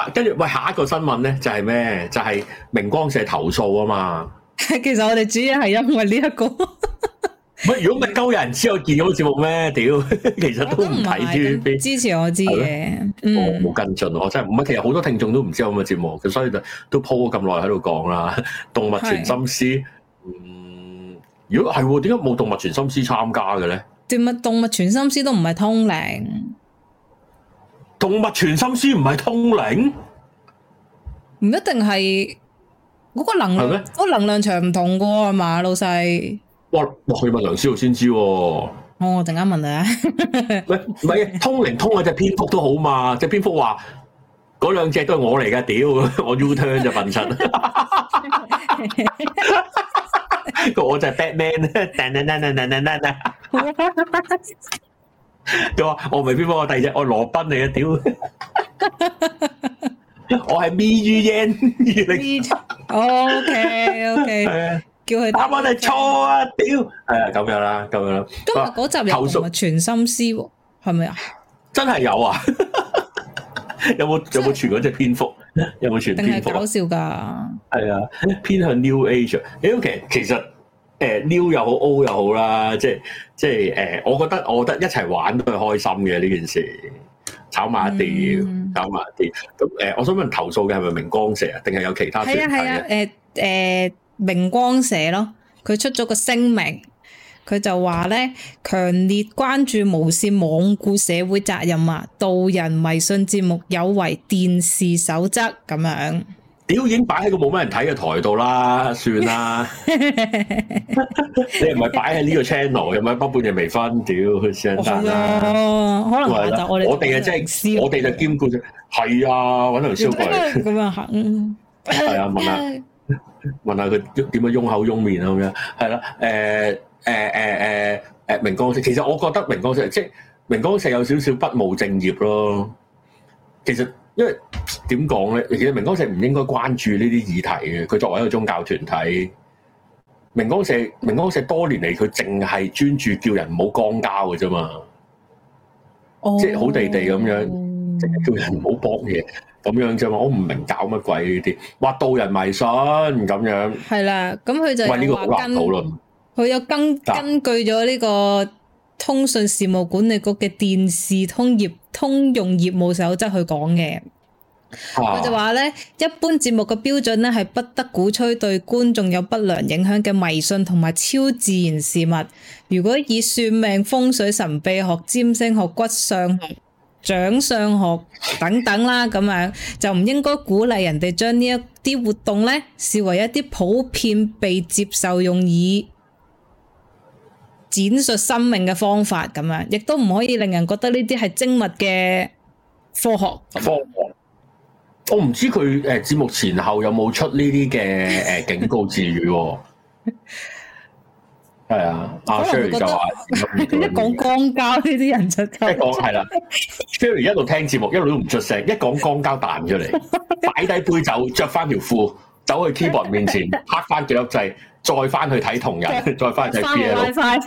跟住喂，下一個新聞咧就係咩？就係明光社投訴啊嘛。 其實我哋主要係因為呢一個。 喂，如果咪鳩有人知我見到節目咩？屌，其實都唔睇 TVB。 支持我知嘅， 我冇跟進，我真係唔係。其實好多聽眾都唔知有咁嘅節目，咁所以就都鋪咗咁耐喺度講啦。動物傳心師，如果係點解冇動物傳心師參加嘅咧？ 動物傳心師都唔係通靈， 動物傳心師唔係通靈， 唔一定係嗰個能量，嗰個能量場唔同噶係嘛，老細。 哇！去問梁思浩先知喎。 我陣間問你啊。 喂，唔係通靈通嗰隻蝙蝠都好嘛？隻蝙蝠話嗰兩隻都係我嚟噶，屌我 U turn 就笨柒。我就係 Batman，佢話我唔係蝙蝠，我第二隻我羅賓嚟嘅，屌！我係 MeUN。OK。叫佢答我哋錯啊！屌，係啊，咁樣啦。今日嗰集有動物傳心師，係咪啊？ 真係有啊！有冇傳嗰隻蝙蝠？有冇傳蝙蝠？ 定係搞笑噶？ 係啊，偏向 New Age。其實New 又好 O 又好啦，即係我覺得一齊玩都係開心嘅呢件事，炒埋一碟，炒埋一碟。咁我想問投訴嘅係咪明光社啊？定係有其他團體？ 係啊，明光社咯，佢出咗個聲明，佢就話咧強烈關注無線罔顧社會責任啊，導人迷信節目有違電視守則咁樣。 屌，已經擺喺個冇乜人睇嘅台度啦，算啦。你唔係擺喺呢個 channel，又唔係北半夜微醺，屌佢先得啦。 可能下集我哋就我哋就兼顧啫。係啊，揾條燒過嚟。 咁樣行。 係啊，問下佢點樣擁口擁面啊咁樣，係啦，明光社，其實我覺得明光社明光社有少少不務正業咯。其實因為點講咧，其實明光社唔應該關注呢啲議題嘅。佢作為一個宗教團體，明光社多年嚟佢淨係專注叫人唔好肛交嘅啫嘛，即係好地地咁樣，淨係叫人唔好搏嘢。咁樣啫嘛，我唔明搞乜鬼呢啲，話導人迷信咁樣。係啦， 咁佢就喂呢個好難討論。佢有根據咗呢個通訊事務管理局嘅電視通用業務守則去講嘅。佢就話咧，一般節目嘅標準咧係不得鼓吹對觀眾有不良影響嘅迷信同埋超自然事物。如果以算命、風水、神秘學、占星學、骨相學、掌相學等等啦，咁樣就唔應該鼓勵人哋將呢一啲活動咧視為一啲普遍被接受用以展述生命嘅方法咁樣，亦都唔可以令人覺得呢啲係精密嘅科學。 我唔知佢節目前後有冇出呢啲嘅警告字語。係啊，阿 Sherry 就話一講肛交呢啲人就一講係啦。Sherry 一路聽節目，一路都唔出聲，一講肛交彈出嚟，擺低杯酒，着翻條褲，走去 keyboard 面前，拍翻幾粒掣，再翻去睇同人，再翻去睇 BL。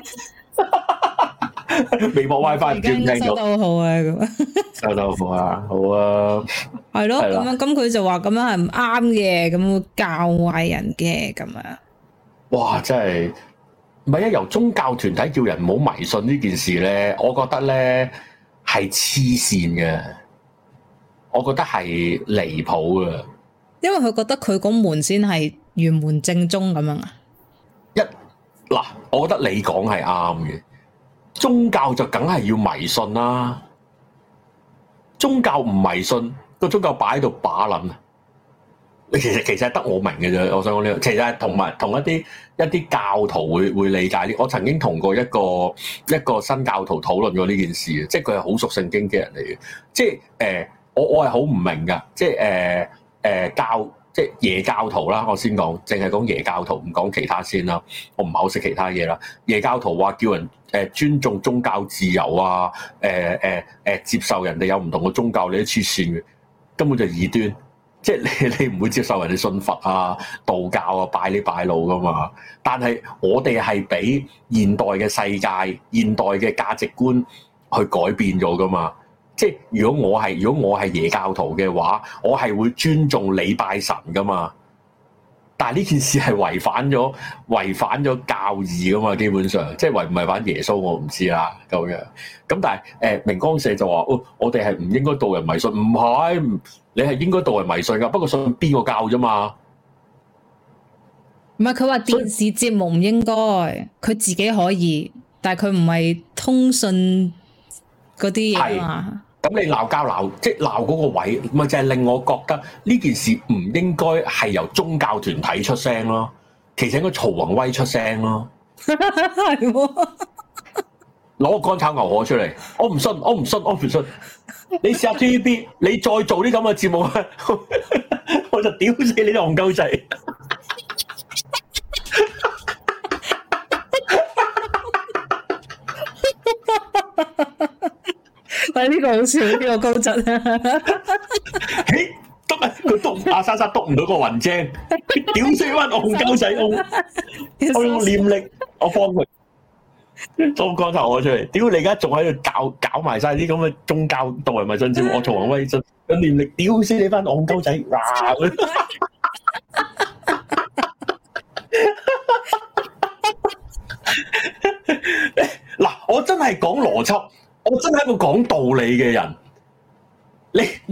微博 WiFi 唔知唔聽到。收得好啊，咁收得好啊，好啊。 係咯，咁佢就話咁樣係唔啱嘅，咁會教壞人嘅咁樣。 哇！真係〜唔係啊！由宗教團體叫人唔好迷信呢件事咧，我覺得咧係黐線嘅，我覺得係離譜嘅。 因為佢覺得佢嗰門先係玄門正宗咁樣啊。 嗱，我覺得你講係啱嘅，宗教就梗係要迷信啦。宗教唔迷信，個宗教擺喺度把撚啊！其實係得我明嘅啫，我想講呢個，其實係同一啲教徒會理解呢。我曾經同過一個新教徒討論過呢件事嘅，即係佢係好熟聖經嘅人嚟嘅。即係我係好唔明㗎，即係即係耶教徒啦。我先講，淨係講耶教徒，唔講其他先啦。我唔係好識其他嘢啦。耶教徒話叫人尊重宗教自由啊，接受人哋有唔同嘅宗教，你都黐線嘅，根本就異端。即係你唔會接受人哋信佛啊、道教啊、拜呢拜老噶嘛？但係我哋係俾現代嘅世界、現代嘅價值觀去改變咗噶嘛？ 即係如果我係耶教徒嘅話，我係會尊重你拜神噶嘛。但係呢件事係違反咗教義噶嘛，基本上即係違唔違反耶穌我唔知啦咁樣。咁但係明光社就話我哋係唔應該導人迷信，唔係，你係應該導人迷信噶，不過信邊個教啫嘛。 唔係，佢話電視節目唔應該，佢自己可以，但係佢唔係通訊嗰啲嘢啊嘛。咁你鬧交即係鬧嗰個位，咪就係令我覺得呢件事唔應該係由宗教團體出聲咯，其實應該曹宏威出聲咯。係喎，攞個乾炒牛河出嚟，我唔信。你試下 TVB， 你再做啲咁嘅節目，我就屌死你啲戇鳩仔。 喂，呢個好笑，呢個高質啊！ 嘿，佢篤阿莎莎篤唔到個雲精，屌死班戇鳩仔！我用念力，我幫佢裝光頭我出嚟。屌你而家仲喺度搞埋晒啲咁嘅宗教導人迷信節目，我曹宏威信用念力屌死你班戇鳩仔！嗱，我真係講邏輯。我真係一個講道理嘅人，你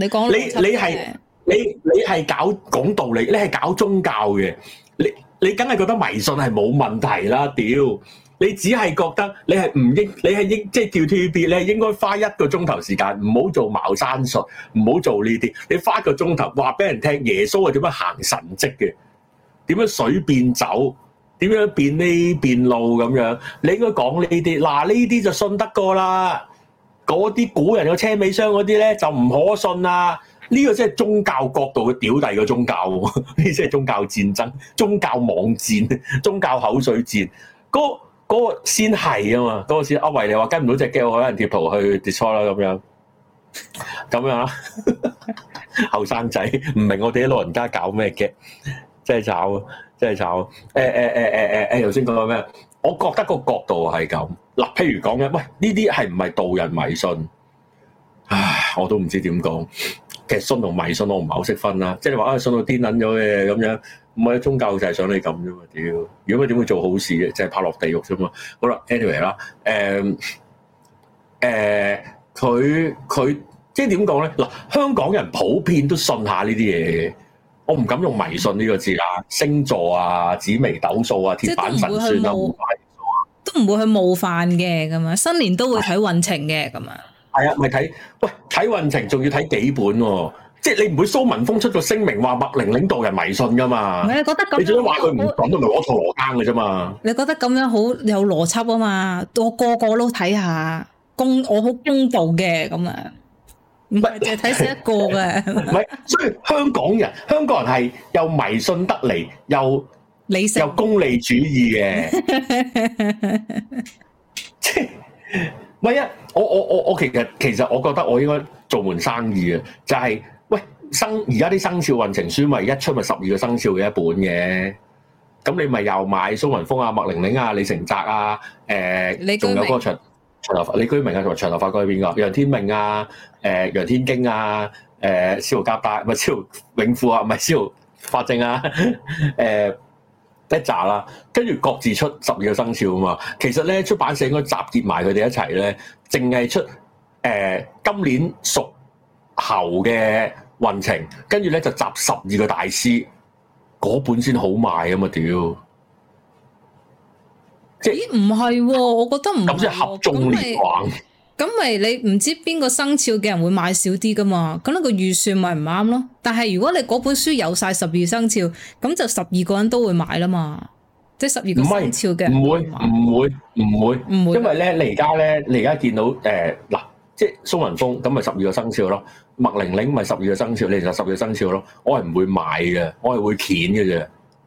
係搞講道理，你係搞宗教嘅，你梗係覺得迷信係冇問題啦，屌！你只係覺得你係唔應，你係應即係叫 TVB，你係應該花1個鐘頭時間，唔好做茅山術，唔好做呢啲，你花1個鐘頭話俾人聽耶穌係點樣行神蹟嘅，點樣水變酒，點樣變呢變路咁樣，你應該講呢啲，嗱呢啲就信得過啦。嗰啲古人嘅車尾箱嗰啲咧就唔可信啦！呢個真係宗教角度嘅屌第二個宗教，呢啲真係宗教戰爭、宗教網戰、宗教口水戰。嗰個先係啊嘛，嗰個先阿維你話跟唔到隻 game， 可能貼圖去 Discord 啦咁樣啦。後生仔唔明我哋啲老人家搞咩嘅，真係炒，真係炒。頭先講緊咩？我覺得個角度係咁嗱，譬如講嘅，喂呢啲係唔係導人迷信？唉，我都唔知點講。其實信同迷信我唔係好識分啦。即係你話信到癲撚咗嘅咁樣，唔係宗教就係想你咁啫嘛。屌，如果佢點會做好事嘅？就係拍落地獄啫嘛。好啦 ，anyway 啦，佢即係點講咧？嗱，香港人普遍都信下呢啲嘢嘅。我唔敢用迷信呢個字啦，星座啊、紫微斗數啊、鐵板神算啊， 都唔會去冒犯嘅咁啊。新年都會睇運程嘅咁啊。 係啊，咪睇睇運程，仲要睇幾本喎？即係你唔會蘇文峰出個聲明話麥玲玲導人迷信噶嘛？ 唔係，你覺得咁？ 你最多話佢唔講都咪攞錯羅庚嘅啫嘛？你覺得咁樣好有邏輯啊嘛？我個個都睇下我好公道嘅咁啊。唔係淨係睇死一個嘅，唔係，所以香港人係又迷信得嚟，又理性又功利主義嘅，即係唔係啊？我其實我覺得我應該做門生意嘅，就係喂而家啲生肖運程書咪一出咪12個生肖嘅一本嘅，咁你咪又買蘇文峰啊、麥玲玲啊、李成澤啊，仲有嗰個長頭髮李居明啊，同埋長頭髮嗰個係邊個？楊天命啊。楊天經啊，司徒夾帶唔係司徒永富啊，唔係司徒法正啊，一紮啦，跟住各自出12個生肖啊嘛。其實咧，出版社應該集結埋佢哋一齊咧，淨係出今年屬猴嘅運程，跟住咧就集12個大師嗰本先好賣啊嘛，屌！即係唔係喎？我覺得唔係咁即係合縱連橫。咁咪你唔知邊個生肖嘅人會買少啲噶嘛？咁呢個預算咪唔啱咯。但係如果你嗰本書有晒12生肖，咁就12個人都會買啦嘛。即係12個生肖嘅人唔會，因為咧你而家見到嗱，即係蘇文峰咁咪12個生肖咯，麥玲玲咪12個生肖，你就12個生肖咯。我係唔會買嘅，我係會鉗嘅啫。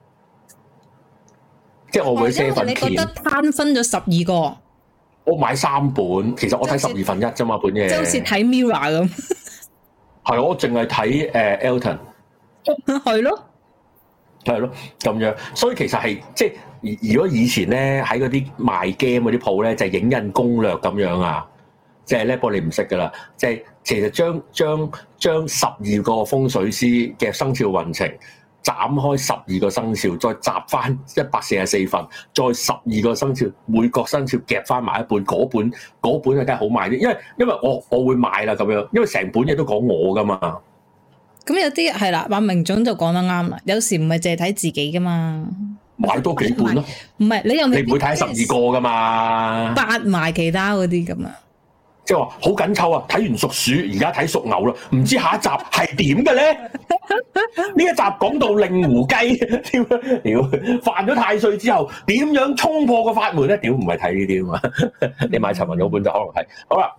即係我會7份鉗。你覺得攤分咗12個？我買3本，其實我睇1/12啫嘛，本嘢。即係好似睇 Mirror 咁。係，我淨係睇Elton。係咯，係咯，咁樣。所以其實係即係，如果以前咧喺嗰啲賣 game 嗰啲鋪咧，就係影印攻略咁樣啊。 即係呢波你唔識噶啦，即係其實將12個風水師嘅生肖運程斬開12個生肖，再集翻144份，再12個生肖，每個生肖夾翻埋一本，嗰本啊梗係好賣啲，因為我會買啦咁樣，因為成本嘢都講我噶嘛。 咁有啲係啦，馬明總就講得啱啦，有時唔係淨係睇自己噶嘛。 買多幾本咯， 唔係你又你唔會睇12個噶嘛， 八埋其他嗰啲咁啊， 即係話好緊湊啊！睇完屬鼠，而家睇屬牛啦，唔知下一集係點嘅咧？呢一集講到令狐雞，屌犯咗太歲之後，點樣衝破個法門咧？屌唔係睇呢啲啊嘛，你買陳文嗰本就可能係好啦。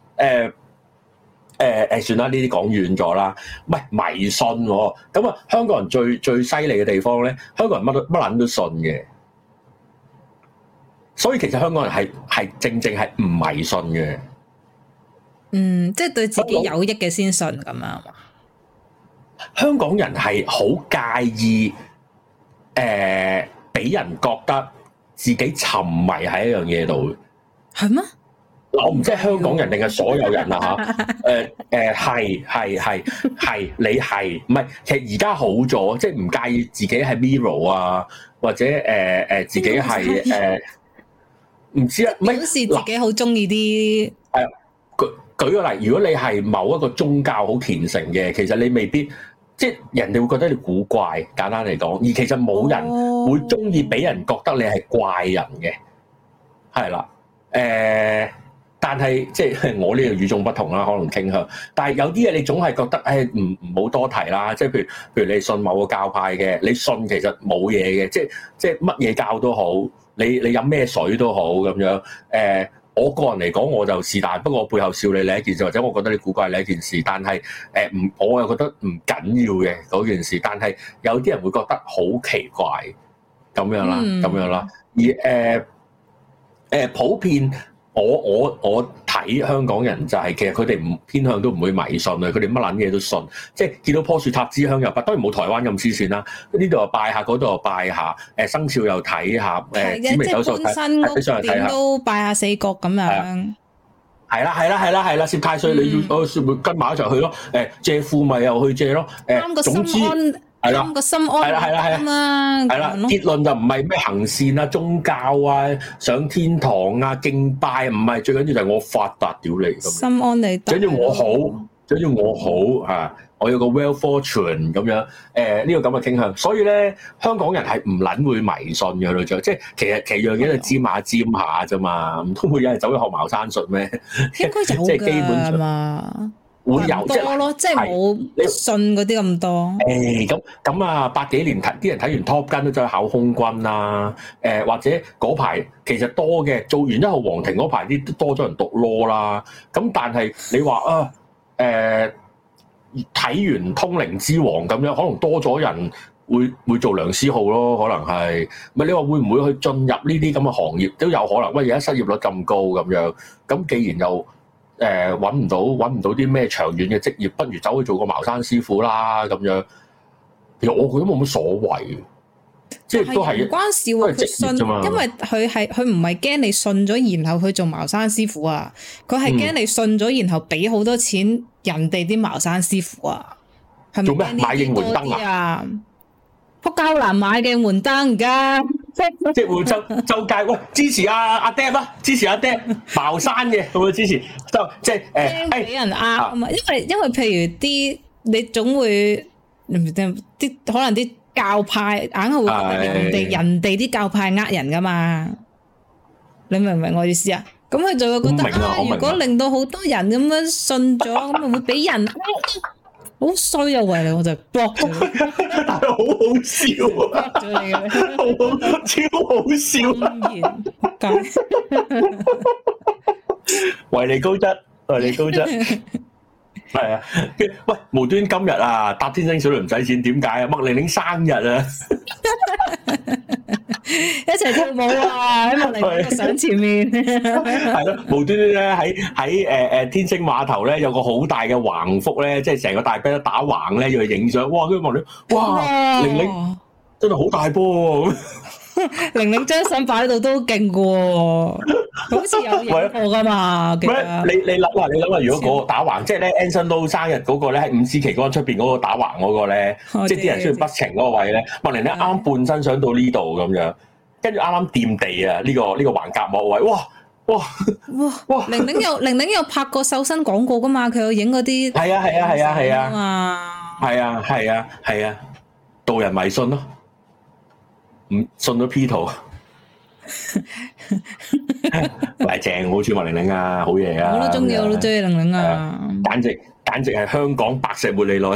算啦，呢啲講遠咗啦。唔係迷信喎，咁啊，香港人最犀利嘅地方咧，香港人乜撚都信嘅，所以其實香港人係正係唔迷信嘅。 即係對自己有益嘅先信咁啊。 香港人係好介意俾人覺得自己沉迷喺一樣嘢度。 係咩？ 我唔知係香港人定係所有人啊嚇，係你係唔係？其實而家好咗，即係唔介意自己係 Mirror 啊，或者自己係唔知啊， 表示自己好中意啲。 舉個例，如果你係某一個宗教好虔誠嘅，其實你未必即係人哋會覺得你古怪。簡單嚟講，而其實冇人會中意俾人覺得你係怪人嘅，係啦，但係即係我呢個與眾不同啦，可能傾向。但係有啲嘢你總係覺得，唔好多提啦。即係譬如你信某個教派嘅，你信其實冇嘢嘅，即係乜嘢教都好，你飲咩水都好咁樣。我個人嚟講，我就是但，不過我背後笑你一件事，或者我覺得你古怪你一件事。但係我又覺得唔緊要嘅嗰件事。但係有啲人會覺得好奇怪咁樣啦，咁樣啦。而普遍。我睇香港人就係其實佢哋唔偏向都唔會迷信啊，佢哋乜撚嘢都信，即係見到棵樹插支香又拜，當然冇台灣咁黐線啦。呢度又拜下，嗰度又拜下，生肖又睇下，紫微斗數睇上嚟睇下， 都拜下四角咁樣。係啦，攝太歲你要跟埋一齊去咯。借庫咪又去借咯。總之。係啦，個心安啊嘛，係啦，結論就唔係咩行善啊、宗教啊、上天堂啊、敬拜，唔係，最緊要就係我發達屌你咁。心安理得，最緊要我好，最緊要我好嚇，我有個 well fortune 咁樣，呢個咁嘅傾向，所以咧香港人係唔撚會迷信嘅咯，即係其實樣嘢就沾下啫嘛，唔通會有人走去學茅山術咩？ 應該有㗎，基本上嘛。會有多咯，即係冇信嗰啲咁多。 咁啊，80幾年啲人睇完 Top Gun 都走去考空軍啦。或者嗰排其實多嘅，做完1號皇庭嗰排啲多咗人讀 law 啦。咁但係你話啊，睇完通靈之王咁樣，可能多咗人會做梁思浩咯，可能係。咪你話會唔會去進入呢啲咁嘅行業都有可能？喂，而家失業率咁高咁樣，咁既然又揾唔到啲咩長遠嘅職業，不如走去做個茅山師傅啦咁樣。其實我覺得冇乜所謂，即係都係唔關事喎。佢信，因為佢唔係驚你信咗，然後去做茅山師傅啊。佢係驚你信咗，然後俾好多錢人哋啲茅山師傅啊。係咪做咩買應援燈啊？撲膠難買嘅應援燈而家。 即係會周街喂支持阿 Deb 啊，支持阿 Deb 茅山嘅會唔會支持？就即係驚俾人呃啊嘛，因為譬如啲你總會啲可能啲教派硬係會覺得人哋啲教派呃人噶嘛，你明唔明我意思啊？咁佢就會覺得如果令到好多人咁樣信咗，咁咪會俾人好衰啊！為你我就 block 咗， 但係好好笑啊！ 咗你嘅， 超好笑，為你高質，為你高質，係啊！喂，無端今日啊，搭天星小輪唔使錢，點解啊？麥玲玲生日啊！ 一齊跳舞啊！喺麥玲玲個相前面， 係咯，無端端咧喺天星碼頭咧有個好大嘅橫幅咧，即係成個大髀都打橫咧要去影相。哇！跟住麥玲，哇！玲玲真係好大波喎！ 玲玲張相擺喺度都勁嘅喎，好似有影過噶嘛？ 你諗下，如果嗰個打橫，即係咧 Anson Lo 生日嗰個咧，喺五支旗杆出邊嗰個打橫嗰個咧，即係啲人需要不情嗰個位咧，麥玲玲啱半身上到呢度咁樣，跟住啱啱掂地啊！呢個橫膈膜位，哇！玲玲有拍過瘦身廣告噶嘛？佢有影嗰啲係啊，導人迷信咯。唔信咗 P 圖，喂，正，好似麥玲玲啊，好嘢啊！ 我都中意玲玲啊！ 簡直係香港白石茉莉奈，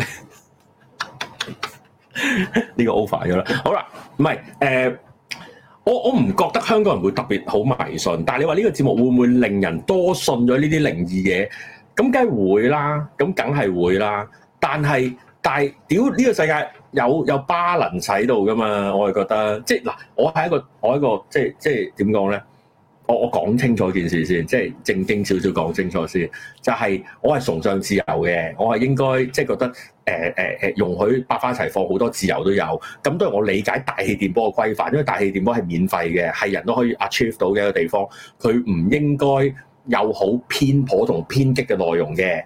呢個 over 咗啦。好啦，唔係我唔覺得香港人會特別好迷信，但係你話呢個節目會唔會令人多信咗呢啲靈異嘢？咁梗係會啦，咁梗係會啦。但係屌呢個世界有 balance 喺度噶嘛？我係覺得，即係嗱，我係一個即係點講咧？我講清楚件事先，即係正經少少講清楚先。就係我係崇尚自由嘅，我係應該即係覺得容許百花齊放，好多自由都有。咁當然我理解大氣電波嘅規範，因為大氣電波係免費嘅，係人都可以 achieve 到嘅一個地方。佢唔應該有好偏頗同偏激嘅內容嘅。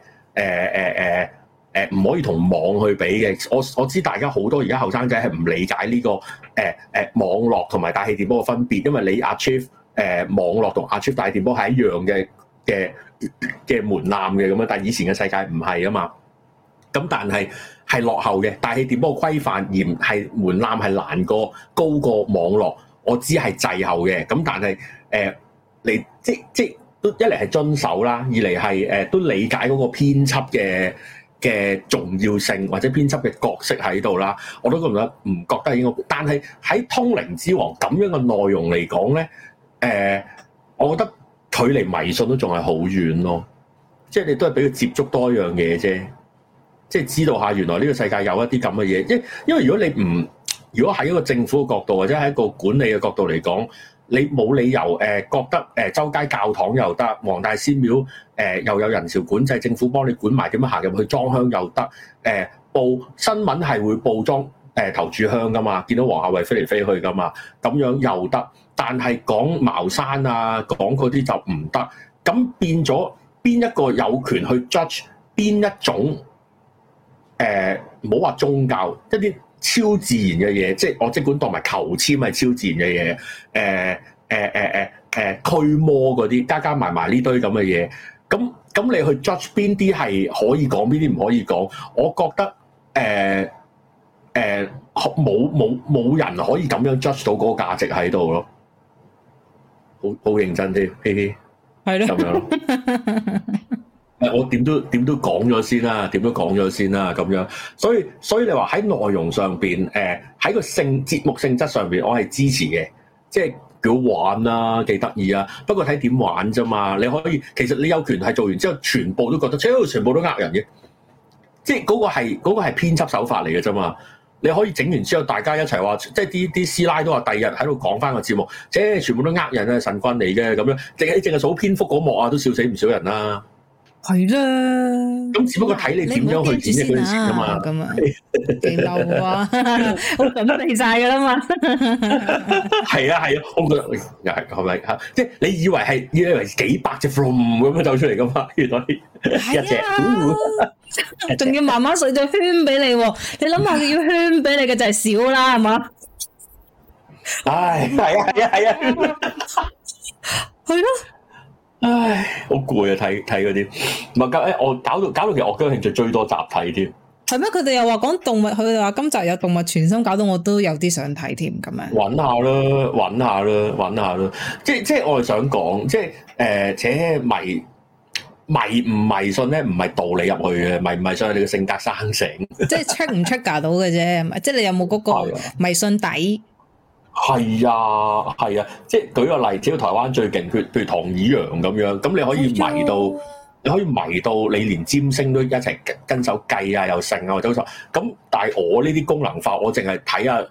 唔可以同網去比嘅。我知大家好多而家後生仔係唔理解呢個網絡同埋大氣電波嘅分別，因為你 achieve 網絡同 achieve 大氣電波係一樣嘅門檻嘅咁樣，但係以前嘅世界唔係啊嘛。咁但係落後嘅大氣電波規範嚴係門檻係難過高過網絡，我知係滯後嘅。咁但係你即都一嚟係遵守啦，二嚟係都理解嗰個編輯嘅重要性或者編輯嘅角色喺度啦，我都覺得應該。但係喺《通靈之王》咁樣嘅內容嚟講咧，我覺得距離迷信都仲係好遠咯。即係你都係俾佢接觸多一樣嘢啫，即係知道下原來呢個世界有一啲咁嘅嘢。因為如果喺一個政府嘅角度或者喺一個管理嘅角度嚟講，你冇理由覺得周街教堂又得，黃大仙廟又有人潮管制，政府幫你管埋點樣行入去裝香又得，報新聞係會報裝頭炷香噶嘛，見到黃夏蕙飛嚟飛去噶嘛，咁樣又得，但係講茅山啊，講嗰啲就唔得，咁變咗邊一個有權去 judge 邊一種唔好話宗教一啲超自然嘅嘢，即係我即管當埋求籤係超自然嘅嘢，驅魔嗰啲加埋呢堆咁嘅嘢，咁你去 judge 邊啲係可以講，邊啲唔可以講？我覺得冇人可以咁樣 judge 到嗰個價值喺度咯，好認真啲，嘻嘻，係咯，咁樣咯。我點都講咗先啦，咁樣，所以你話喺內容上邊，喺個節目性質上邊，我係支持嘅，即係幾好玩啊，幾得意啊。不過睇點玩啫嘛，你可以其實你有權係做完之後，全部都覺得，全部都呃人嘅，即係嗰個係編輯手法嚟嘅啫嘛。你可以整完之後，大家一齊話，即係啲師奶都話，第二日喺度講翻個節目，即係全部都呃人啊，神棍嚟嘅咁樣，淨係數蝙蝠嗰幕啊，都笑死唔少人啦。係啦，咁只不過睇你點樣去演繹嗰件事啊嘛，咁啊幾嬲啊，我準備晒噶啦嘛，係啊，我覺得又係咪嚇？即係你以為幾百隻 from 咁樣走出嚟噶嘛？原來一隻，仲要慢慢水咗圈俾你喎。你諗下，要圈俾你嘅就係少啦，係嘛？唉，係啊，係咯。唉，好攰啊！睇嗰啲，唔係我搞到其實我嘅興趣最多集睇添。係咩？佢哋又話講動物，佢哋話今集有動物傳心，搞到我都有啲想睇添咁樣。揾下啦，即係我係想講，即係且迷唔迷信咧，唔係導你入去嘅，迷唔迷信係你嘅性格生成。即係 check 唔 check 到嘅啫，即係你有冇嗰個迷信底？係啊，即係舉個例，只要台灣最勁，譬如唐以陽咁樣，咁你可以迷到你連占星都一齊跟手計啊，又剩啊，或者咁。但係我呢啲功能化，我淨係睇下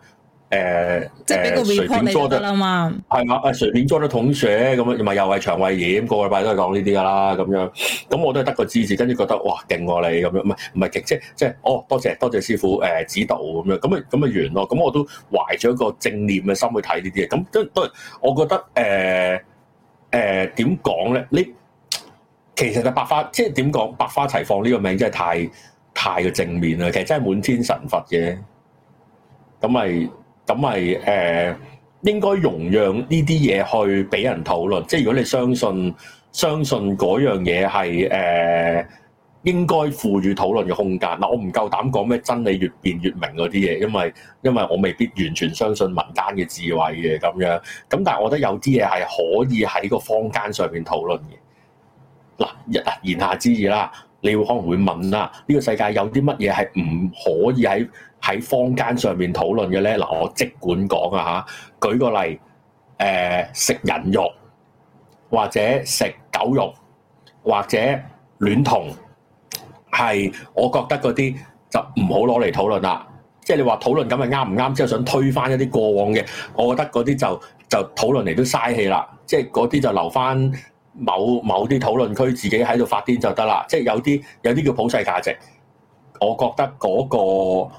即係俾個 report 你得啦嘛。 係嘛？隨便做得統寫咁樣，咪又係腸胃炎，個禮拜都係講呢啲噶啦咁樣。咁我都係得個知字，跟住覺得哇勁喎你咁樣，唔係極即係多謝師傅指導咁樣，咁啊完咯。咁我都懷咗一個正念嘅心去睇呢啲嘢。咁都我覺得點講咧？你其實就百花，即係點講？百花齊放呢個名真係太過正面啦。其實真係滿天神佛嘅。咁咪應該容讓呢啲嘢去俾人討論。即係如果你相信嗰樣嘢係應該賦予討論嘅空間。嗱，我唔夠膽講咩真理越辯越明嗰啲嘢，因為我未必完全相信民間嘅智慧嘅咁樣。咁但係我覺得有啲嘢係可以喺個坊間上面討論嘅。嗱，言下之意啦，你可能會問啦，呢個世界有啲乜嘢係唔可以喺坊間上面討論嘅咧？嗱，我即管講啊嚇，舉個例，食人肉或者食狗肉或者戀童，係我覺得嗰啲就唔好攞嚟討論啦。即係你話討論咁係啱唔啱？之後想推翻一啲過往嘅，我覺得嗰啲就討論嚟都嘥氣啦。即係嗰啲就留翻某啲討論區自己喺度發癲就得啦。即係有啲叫普世價值，我覺得嗰個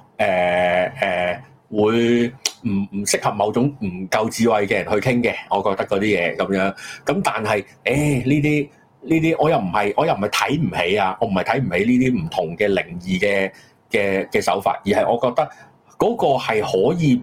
會唔適合某種唔夠智慧嘅人去傾嘅。我覺得嗰啲嘢咁樣。咁但係呢啲我又唔係睇唔起啊！我唔係睇唔起呢啲唔同嘅靈異嘅手法，而係我覺得嗰個係可以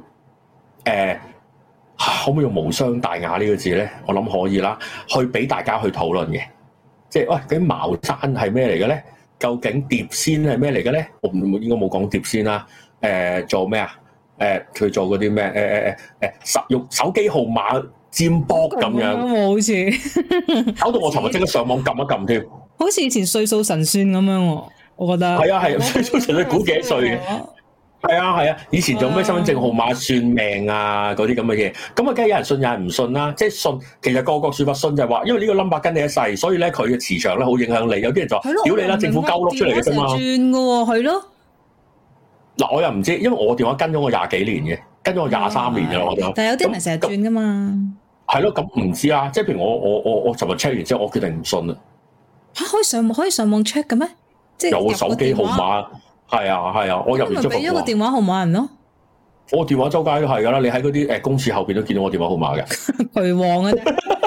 可唔可以用無傷大雅呢個字咧？我諗可以啦，去俾大家去討論嘅。即係喂，究竟茅山係咩嚟嘅咧？究竟碟仙係咩嚟嘅咧？我應該冇講碟仙啦。做咩啊？佢做嗰啲咩？用手機號碼占卜咁樣， 好似搞到我尋日即刻上網撳一撳添。 好似以前歲數神算咁樣喎，我覺得。係啊，歲數神算估幾多歲嘅？係啊，以前做咩身份證號碼算命啊嗰啲咁嘅嘢，咁啊梗係有人信有人唔信啦。即係信，其實個説法信就係話，因為呢個 number 跟你一世，所以咧佢嘅磁場咧好影響你。有啲人就話屌你啦，政府鳩碌出嚟嘅啫嘛。轉嘅喎，係咯。嗱，我又唔知，因為我電話跟咗我20幾年嘅，跟咗我23年嘅啦，我電話。但係有啲人成日轉噶嘛。係咯，咁唔知啊。即係譬如我尋日 check 完之後，我決定唔信啦。嚇，可以上網 check 嘅咩？即係有手機號碼。係啊，我入完之後俾咗個電話號碼人咯。我電話周街都係噶啦，你喺嗰啲公廁後邊都見到我電話號碼嘅。渠王啊！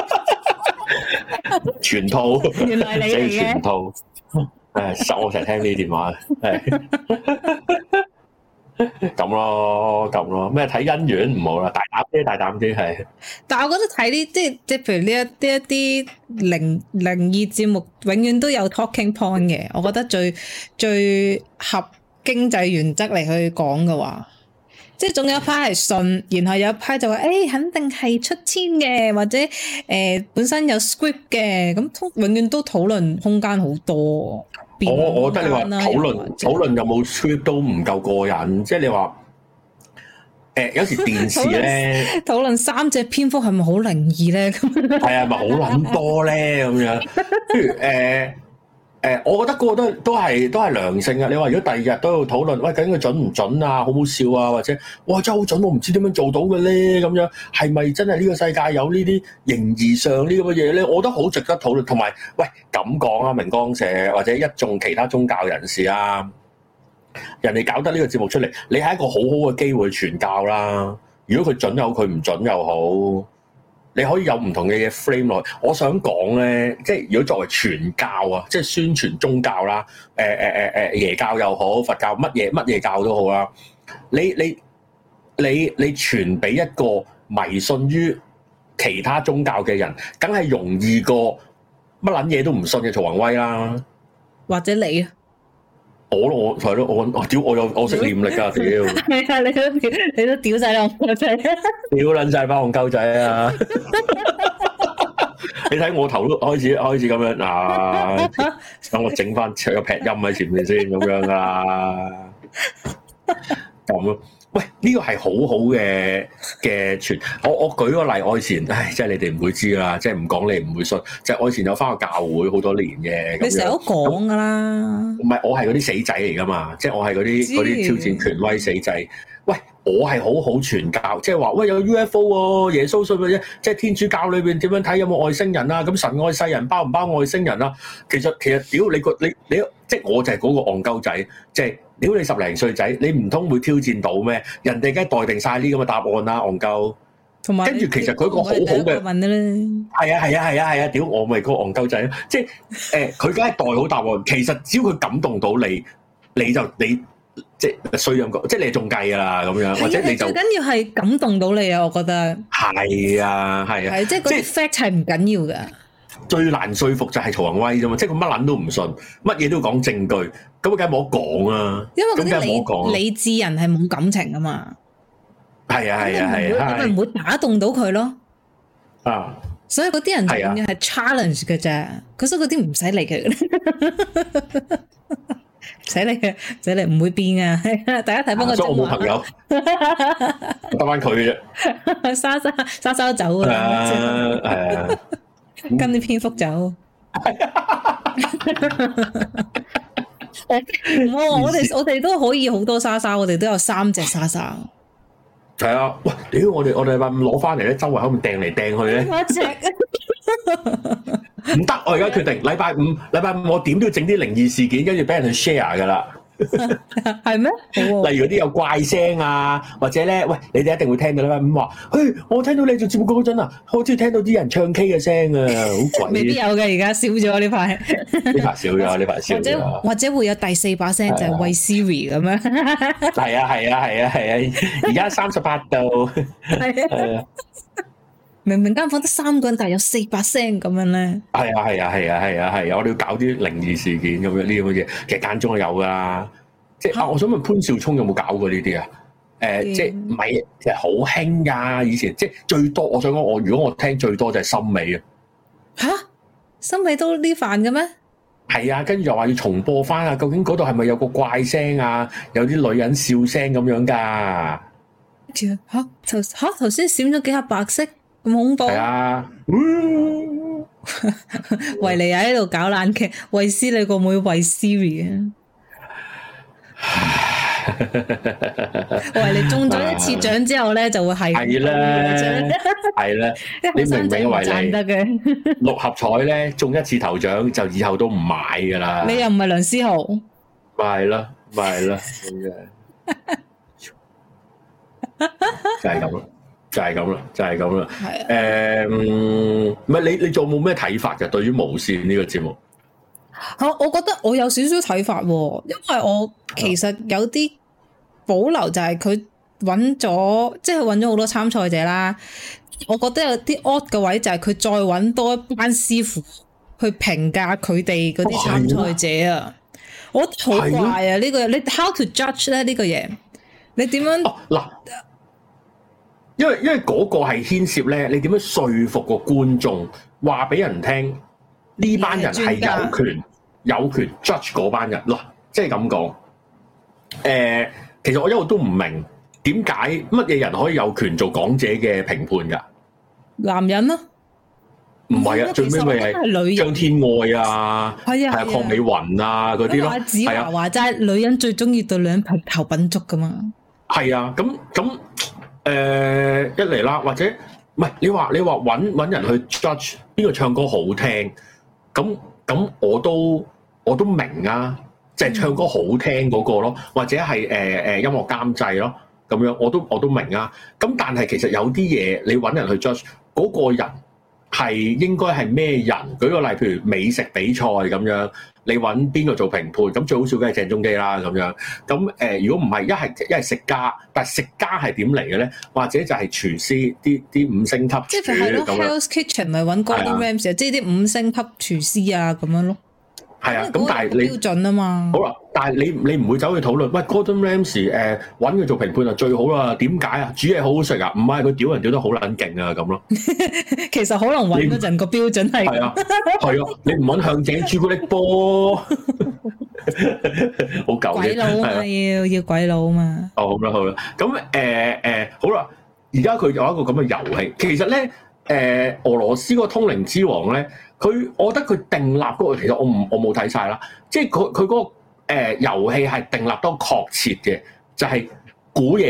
全套，原來你嚟嘅。全套，我成日聽呢啲電話，咁咯，咩睇姻緣唔好啦，大膽啲係。但係我覺得睇呢，即係譬如呢一啲靈異節目，永遠都有 talking point 嘅。我覺得最合經濟原則嚟去講嘅話，即係總有一批係信，然後有一批就話肯定係出千嘅，或者本身有 script 嘅，咁永遠都討論空間好多。我覺得你話討論有冇 script 都唔夠過癮，即係你話有時電視咧討論3隻蝙蝠係咪好靈異咧？係啊，咪好撚多咧咁樣。譬如我覺得個個都係良性嘅。你話如果第二日都要討論，喂，究竟佢準唔準啊？好唔好笑啊？或者哇真係好準，我唔知點樣做到嘅咧？咁樣係咪真係呢個世界有呢啲形而上呢咁嘅嘢咧？我覺得好值得討論。同埋喂咁講啊，明光社或者一眾其他宗教人士啊，人哋搞得呢個節目出嚟，你係一個好好嘅機會傳教啦。如果佢準又好，佢唔準又好。你可以有唔同嘅嘢 frame 落去。我想講咧，即係如果作為傳教啊，即係宣傳宗教啦，耶教又好，佛教乜嘢教都好啦。你傳俾一個迷信於其他宗教嘅人，梗係容易過乜撚嘢都唔信嘅曹宏威啦。或者你啊？我係咯，我屌我識念力㗎，屌！係啊，你都屌晒啦，我真係屌撚晒班戇鳩仔啊！你睇我頭都開始咁樣啊！等我整翻個劈音喺前面先咁樣啦，咁咯。喂，呢個係好好嘅傳。我舉個例，我以前，即係你哋唔會知啦，即係唔講你唔會信。即係我以前有翻個教會好多年嘅。你成日都講噶啦。唔係，我係嗰啲死仔嚟噶嘛，即係我係嗰啲挑戰權威死仔。 喂，我係好傳教，即係話喂有 UFO 喎，耶穌信嘅啫，即係天主教裏邊點樣睇有冇外星人啊？咁神愛世人包唔包外星人啊？其實屌你即係我就係嗰個戇鳩仔，即係屌你10零歲仔，你唔通會挑戰到咩？人哋梗係待定晒呢咁嘅答案啦，戇鳩。同埋跟住其實佢一個好好嘅問咧，係啊，屌我咪嗰個戇鳩仔咯，即係佢梗係代好答案。其實只要佢感動到你即係衰咁講，即係你中計㗎啦咁樣，或者你就最緊要係感動到你啊！我覺得係啊，即係嗰啲 fact 係唔緊要㗎。最難說服就係曹宏威啫嘛，即係佢乜撚都唔信，乜嘢都要講證據，咁梗係冇得講啊！因為嗰啲理智人係冇感情㗎嘛。係啊，咁咪唔會打動到佢咯。啊！所以嗰啲人就永遠係 challenge 嘅啫，所以嗰啲唔使理佢。唔使理，唔會變啊！大家睇翻個真話。所以我冇朋友，得翻佢啫。沙走啦，係啊，跟啲蝙蝠走。我哋都可以好多沙，我哋都有3隻沙。係啊，喂，屌！我哋禮拜5攞翻嚟咧，周圍喺度掟嚟掟去咧。我隻唔得，我而家決定禮拜五我點都要整啲靈異事件，跟住俾人去 share 噶啦。係咩？例如嗰啲有怪聲啊，或者咧，喂，你哋一定會聽到禮拜5話，嘿，我聽到你做節目嗰陣啊，好似聽到啲人唱 K 嘅聲啊，好鬼！未必有嘅，而家少咗呢排。呢排少咗，或者會有第4把聲，就係喂 Siri 咁樣。係啊，而家38度。係啊。明明間房得3個人，但係有4把聲咁樣咧。係啊！我哋要搞啲靈異事件咁樣呢啲咁嘅嘢，其實間中係有噶啦。即係我想問潘少聰有冇搞過呢啲啊？即係唔係，其實好興噶。以前即係最多，我想講如果我聽最多就係森美啊。吓，森美都呢範嘅咩？係啊，跟住又話要重播翻啊。究竟嗰度係咪有個怪聲啊？有啲女人笑聲咁樣噶？頭先閃咗幾下白色。咁恐怖係啊！維尼喺度搞爛劇，衛斯理個妹衛 Siri 啊！維尼中咗一次獎之後咧，就會係啦，你明唔明維尼得嘅？6合彩咧中一次頭獎，就以後都唔買噶啦。你又唔係梁思豪，咪係咯，咁樣就係咁咯。就係咁啦。係唔係你仲冇咩睇法嘅？對於無線呢個節目，我覺得我有少少睇法，因為我其實有啲保留，就係佢揾咗好多參賽者啦。我覺得有啲 odd 嘅位就係佢再揾多一班師傅去評價佢哋嗰啲參賽者啊。我好怪啊！呢個你 how to judge 咧呢個嘢？你點樣嗱？因為嗰個係牽涉咧，你點樣說服個觀眾話俾人聽呢班人係有權 judge 嗰班人咯，即係咁講。其實我一路都唔明點解乜嘢人可以有權做港姐嘅評判㗎？男人咯，唔係啊，最尾咪係張天愛啊，係啊，鄺美雲啊嗰啲咯。阿子華話齋，女人最中意對女人評頭品足㗎嘛。係啊，咁。一嚟啦，或者唔係你話揾人去 judge 邊個唱歌好聽，咁我都明啊，即係唱歌好聽嗰個咯，或者係音樂監製咯，咁樣我都明啊。咁但係其實有啲嘢你揾人去 judge 嗰個人係應該係咩人？舉個例，譬如美食比賽咁樣。你揾邊個做評判？咁最好笑梗係鄭中基啦咁樣。咁如果唔係，一係食家，但係食家係點嚟嘅咧？或者就係廚師啲5星級廚，即係係咯 Hell's Kitchen 咪揾 Gordon Ramsay，即係啲5星級廚師啊咁樣咯。係啊，咁但係你標準啊嘛。好啦，但係你唔會走去討論，喂 Gordon Ramsay 揾佢做評判就最好啦。點解啊？煮嘢好好食啊？唔係佢屌人屌得好撚勁啊咁咯。其實可能揾嗰陣個標準係係啊，你唔揾向井朱古力波，好舊嘅鬼佬啊，要鬼佬啊嘛。哦，好啦，咁好啦，而家佢有一個咁嘅遊戲，其實咧俄羅斯個通靈之王咧。我覺得佢訂立嗰個，其實我冇睇晒啦。即係佢嗰個遊戲係訂立得確切嘅，就係估嘢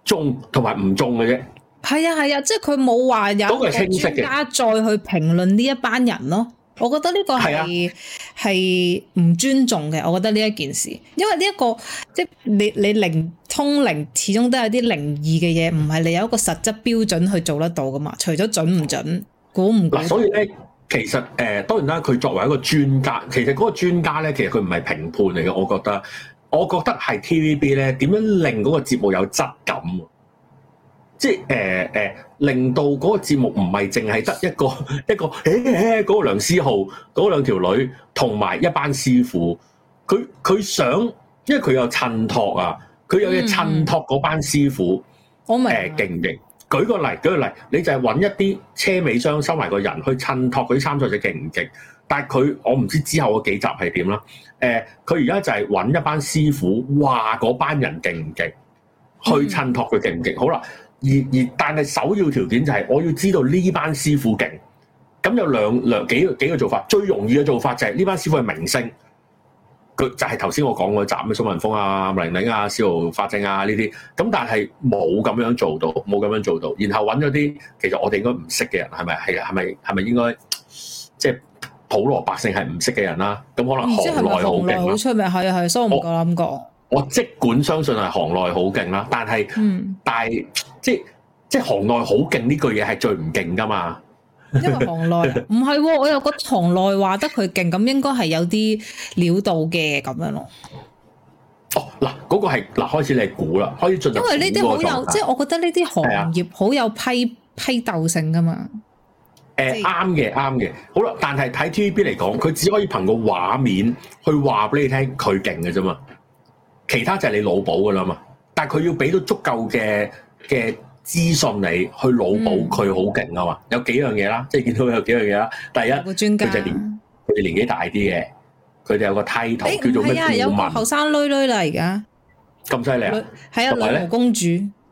中同埋唔中嘅啫。 係啊，即係佢冇話有個專家再去評論呢一班人咯。我覺得呢個係唔尊重嘅。我覺得呢一件事，因為呢一個即係你通靈始終都有啲靈異嘅嘢，唔係你有一個實質標準去做得到噶嘛。除咗準唔準，估唔估？ 所以咧，其實當然啦，佢作為一個專家，其實嗰個專家咧，其實佢唔係評判嚟嘅。我覺得係 TVB 咧點樣令嗰個節目有質感。即係令到嗰個節目唔係淨係得一個嗰個梁思浩嗰兩條女同埋一班師傅，佢想，因為佢有襯托啊，佢有嘢襯托嗰班師傅， 我明勁唔勁？舉個例，你就係揾一啲車尾箱收埋個人去襯托嗰啲參賽者勁唔勁？但係我唔知之後嗰幾集係點啦。佢而家就係揾一班師傅話嗰班人勁唔勁，去襯托佢勁唔勁。好啦。但係首要條件就係我要知道呢班師傅勁，咁有幾個做法。最容易嘅做法就係呢班師傅係明星，佢就係頭先我講嗰集咩蘇文峰啊、林玲啊、司徒法正啊呢啲，咁但係冇咁樣做到，然後揾咗啲其實我哋應該唔識嘅人，係咪應該即係普羅百姓係唔識嘅人啦？咁可能行內好勁啦， 好出名係，所以我唔夠膽講。 我即管相信係行內好勁啦，但係即係行內好勁呢句嘢係最唔勁噶嘛？ 因為行內唔係，我又覺得行內話得佢勁，咁應該係有啲料到嘅咁樣咯。 哦，嗱，嗰個係嗱，開始你估啦，開始進入。因為呢啲好有， 即係我覺得呢啲行業好有批鬥性噶嘛。 啱嘅，好啦，但係睇 TVB 嚟講，佢只可以憑個畫面去話俾你聽佢勁嘅啫嘛。其他就係你腦補噶啦嘛，但係佢要俾到足夠嘅資訊你去腦補佢好勁啊嘛。有幾樣嘢啦，即係見到有幾樣嘢啦。第一， 個專家佢哋年紀大啲嘅，佢哋有個 title 叫做咩顧問？ 有個後生女啦，而家咁犀利啊！ 係啊，女巫公主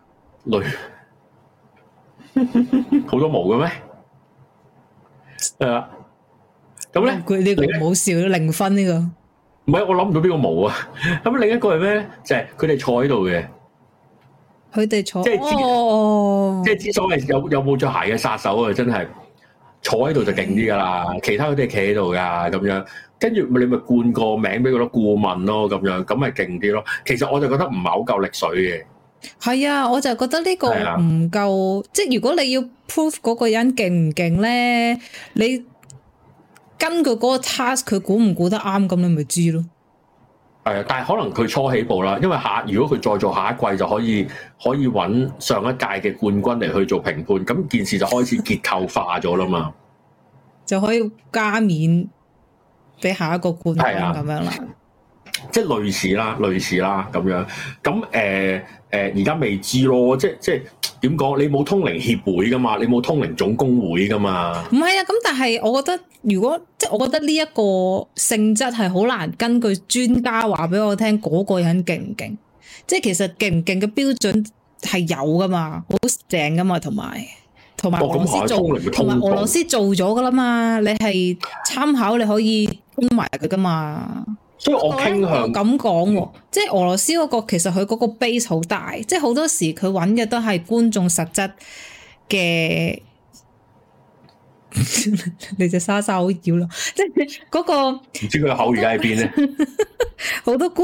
好多毛嘅咩？係啊，咁咧佢呢個冇笑零分呢個。 唔係，我諗唔到邊個冇啊！咁另一個係咩？就係佢哋坐喺度嘅。佢哋坐，即係之所謂有冇着鞋嘅殺手啊！真係坐喺度就勁啲噶啦，其他嗰啲係企喺度噶咁樣。跟住你咪冠個名俾佢咯，顧問咯咁樣，咁咪勁啲咯。其實我就覺得唔係好夠力水嘅。係啊，我就覺得呢個唔夠。即係如果你要 prove 嗰個人勁唔勁咧，你根據嗰個 task 佢估唔估得啱，咁你咪知咯。係啊，但係可能佢初起步啦，因為如果佢再做下一季就可以揾上一屆嘅冠軍嚟去做評判，咁件事就開始結構化咗啦嘛，就可以加冕俾下一個冠軍咁樣啦。即係類似啦咁樣。咁而家未知咯，即係點講？你冇通靈協會噶嘛？你冇通靈總工會噶嘛？唔係啊，咁但係我覺得，我覺得呢一個性質係好難根據專家話俾我聽嗰個人勁唔勁。即係其實勁唔勁嘅標準係有噶嘛，好正噶嘛，同埋俄羅斯做，同埋俄羅斯做咗噶啦嘛。你係參考，你可以跟埋佢噶嘛。所以我傾向咁講喎，即係俄羅斯嗰個其實佢嗰個 base 好大，即係好多時佢揾嘅都係觀眾實質嘅。你隻莎莎好妖咯，即係嗰個唔知佢個口而家喺邊咧？好多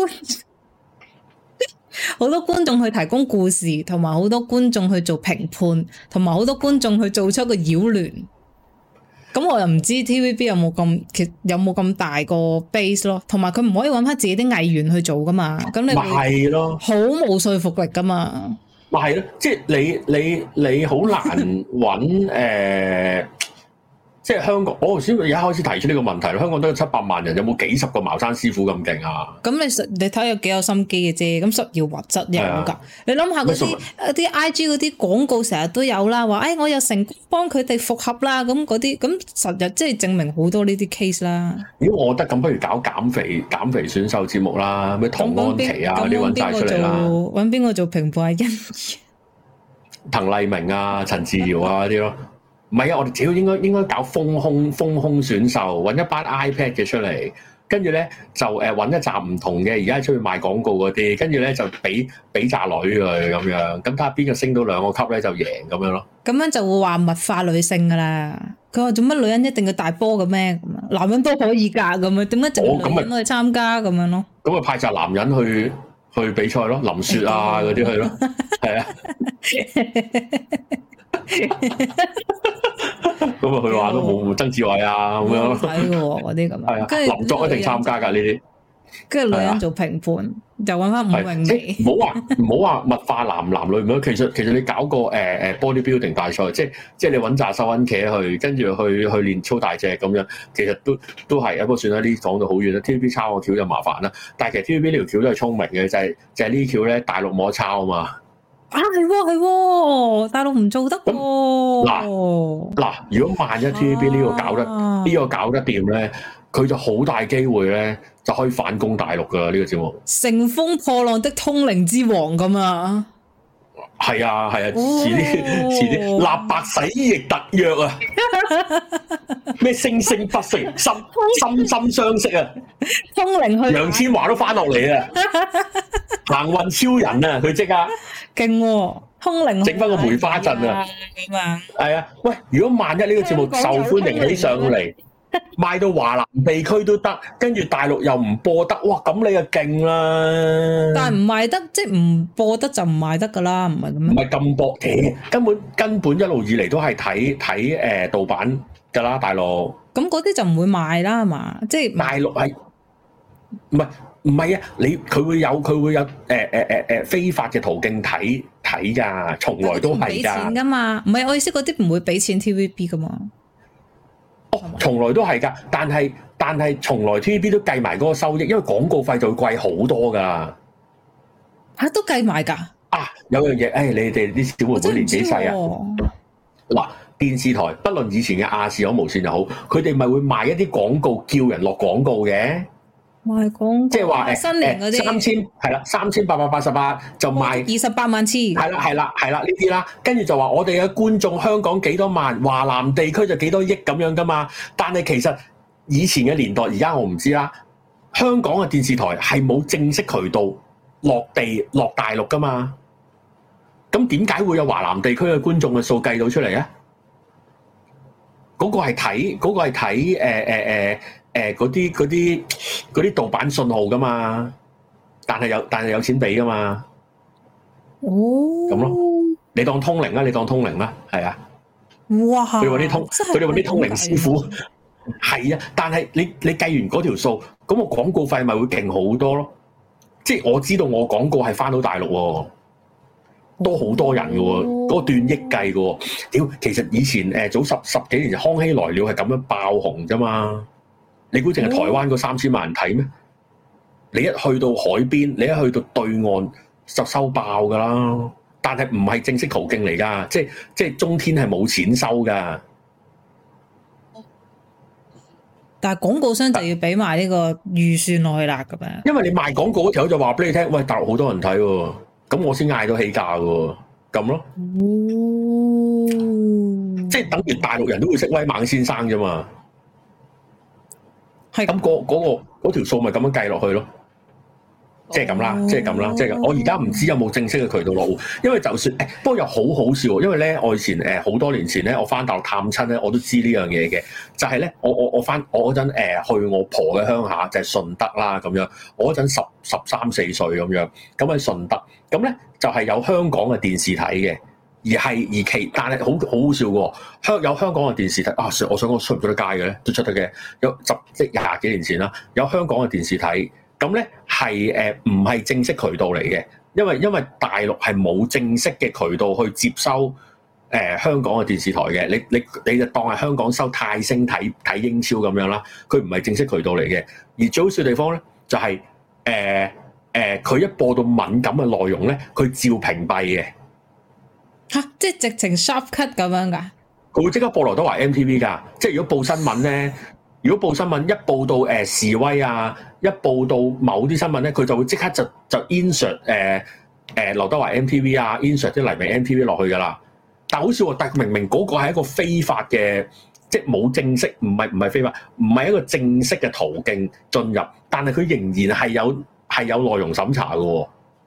觀眾去提供故事，同埋好多觀眾去做評判，同埋好多觀眾去做出個擾亂。咁我又唔知 TVB 有冇咁大個 base 咯，同埋佢唔可以揾翻自己啲藝員去做噶嘛，咁你咪係咯，好冇說服力噶嘛。咪係咯，即係你好難揾即係香港，我頭先而家開始提出呢個問題咯。香港都有700萬人，有冇幾十個茅山師傅咁勁啊？咁你睇有幾有心機嘅啫。咁實要物質有㗎。你諗下嗰啲 IG 嗰啲廣告成日都有啦，話我又成功幫佢哋復合啦。咁嗰啲咁實日即係證明好多呢啲 case 啦。如果我覺得咁，不如搞減肥選秀節目啦，咩唐安琪啊啲揾曬出嚟啦。揾邊個做評判啊？欣宜、滕麗明啊、陳自瑤啊嗰啲咯。唔係啊！我哋只要應該搞豐胸選秀，揾一班 iPad 嘅出嚟， 跟住咧就揾一紮唔同嘅，而家出去賣廣告嗰啲，跟住咧就俾紮女佢咁樣，咁睇下邊個升到2個級咧就贏咁樣咯。 咁樣就會話物化女性噶啦。佢話做乜女人一定要大波嘅咩？咁啊，男人都可以㗎咁樣，點解淨係女人去參加咁樣咯？咁咪派紮男人去比賽咯，林雪啊嗰啲去咯，係啊。咁啊，佢話都冇曾志偉啊咁樣睇嘅嗰啲咁。 係啊，林作一定參加㗎呢啲。 跟住女人做評判，就揾翻伍詠薇。 唔好話物化男女咁樣。其實你搞個bodybuilding 大賽，即係你揾紮收銀茄去，跟住去練操大隻咁樣，其實都係。不過算啦，呢講到好遠啦。TVB 抄個橋就麻煩啦。但係其實 TVB 呢條橋都係聰明嘅，就係呢條橋咧，大陸冇得抄啊嘛。 啊係，大陸唔做得喎。 嗱，如果萬一 TVB 呢個搞得掂咧，佢就好大機會咧，就可以反攻大陸噶呢個節目。乘風破浪的通靈之王咁啊！ 係啊，遲啲立白洗翼特約啊！咩聲不息，心相惜啊！ 通靈去楊千嬅都翻落嚟啊！行運超人啊！佢即刻勁喎，通靈整翻個梅花陣啊！ 咁啊！ 係啊，喂！如果萬一呢個節目受歡迎起上嚟，賣到華南地區都得，跟住大陸又唔播得，哇！咁你就勁啦！但係唔賣得，即係唔播得就唔賣得噶啦，唔係咁樣。唔係咁播，根本一路以嚟都係睇盜版噶啦，大陸。咁嗰啲就唔會賣啦，係嘛？即係大陸係唔係啊？佢會有非法嘅途徑睇㗎，從來都係㗎。唔俾錢㗎嘛？唔係我意思，嗰啲唔會俾錢 TVB 㗎嘛？從來都係㗎，但係從來 TVB 都計埋嗰個收益，因為廣告費就會貴好多㗎。嚇，都計埋㗎？啊，有樣嘢，你哋啲小妹妹年紀細啊。嗱，電視台不論以前嘅亞視好無線又好，佢哋咪會賣一啲廣告，叫人落廣告嘅。賣廣告，即係話新年嗰啲3000係啦，3888就賣28萬次，係啦呢啲啦，跟住就話我哋嘅觀眾香港幾多萬，華南地區就幾多億咁樣噶嘛。但係其實以前嘅年代，而家我唔知啦。香港嘅電視台係冇正式渠道落大陸噶嘛。咁點解會有華南地區嘅觀眾嘅數計到出嚟啊？嗰個係睇嗰啲盜版信號噶嘛，但係有錢俾噶嘛，咁咯，你當通靈啦，係啊，哇！佢哋揾啲通靈師傅，係啊，但係你計完嗰條數，咁個廣告費咪會勁好多咯，即係我知道我廣告係翻到大陸喎。都好多人嘅喎，嗰個斷億計嘅喎。屌，其實以前早十幾年前康熙來了係咁樣爆紅啫嘛。你估淨係台灣嗰3000萬人睇咩？你一去到海邊，你一去到對岸就收爆㗎啦。但係唔係正式途徑嚟㗎，即係中天係冇錢收㗎。但係廣告商就要俾埋呢個預算落去啦，咁樣。因為你賣廣告嗰條就話俾你聽，喂，大陸好多人睇喎。咁我先嗌到起價喎，咁咯，即係等於大陸人都會識威猛先生啫嘛，係咁嗰條數咪咁樣計落去咯，即係咁啦，即係咁。我而家唔知有冇正式嘅渠道落戶，因為就算不過又好好笑，因為咧我以前好多年前咧，我翻大陸探親咧，我都知呢樣嘢嘅，就係咧我嗰陣去我婆嘅鄉下就係順德啦咁樣，我嗰陣13、14歲咁樣，咁喺順德。咁咧就係有香港嘅電視睇嘅，但係好好笑嘅，有香港嘅電視睇啊！我想講出唔出得街嘅咧，都出得嘅。即係20幾年前啦，有香港嘅電視睇，咁咧係唔係正式渠道嚟嘅，因為大陸係冇正式嘅渠道去接收香港嘅電視台嘅，你就當係香港收泰星睇英超咁樣啦，佢唔係正式渠道嚟嘅。而最好笑嘅地方咧就係佢一播到敏感嘅內容咧，佢照屏蔽嘅。嚇！即係直情 sharp cut 咁樣㗎？佢會即刻播劉德華 MTV 㗎。即係如果報新聞咧，如果報新聞一報到示威啊，一報到某啲新聞咧，佢就會即刻就 insert 劉德華 MTV 啊 ，insert 啲黎明 MTV 落去㗎啦。但好笑喎，但明明嗰個係一個非法嘅即係冇正式，唔係非法，唔係一個正式嘅途徑進入，但係佢仍然係有內容審查嘅喎。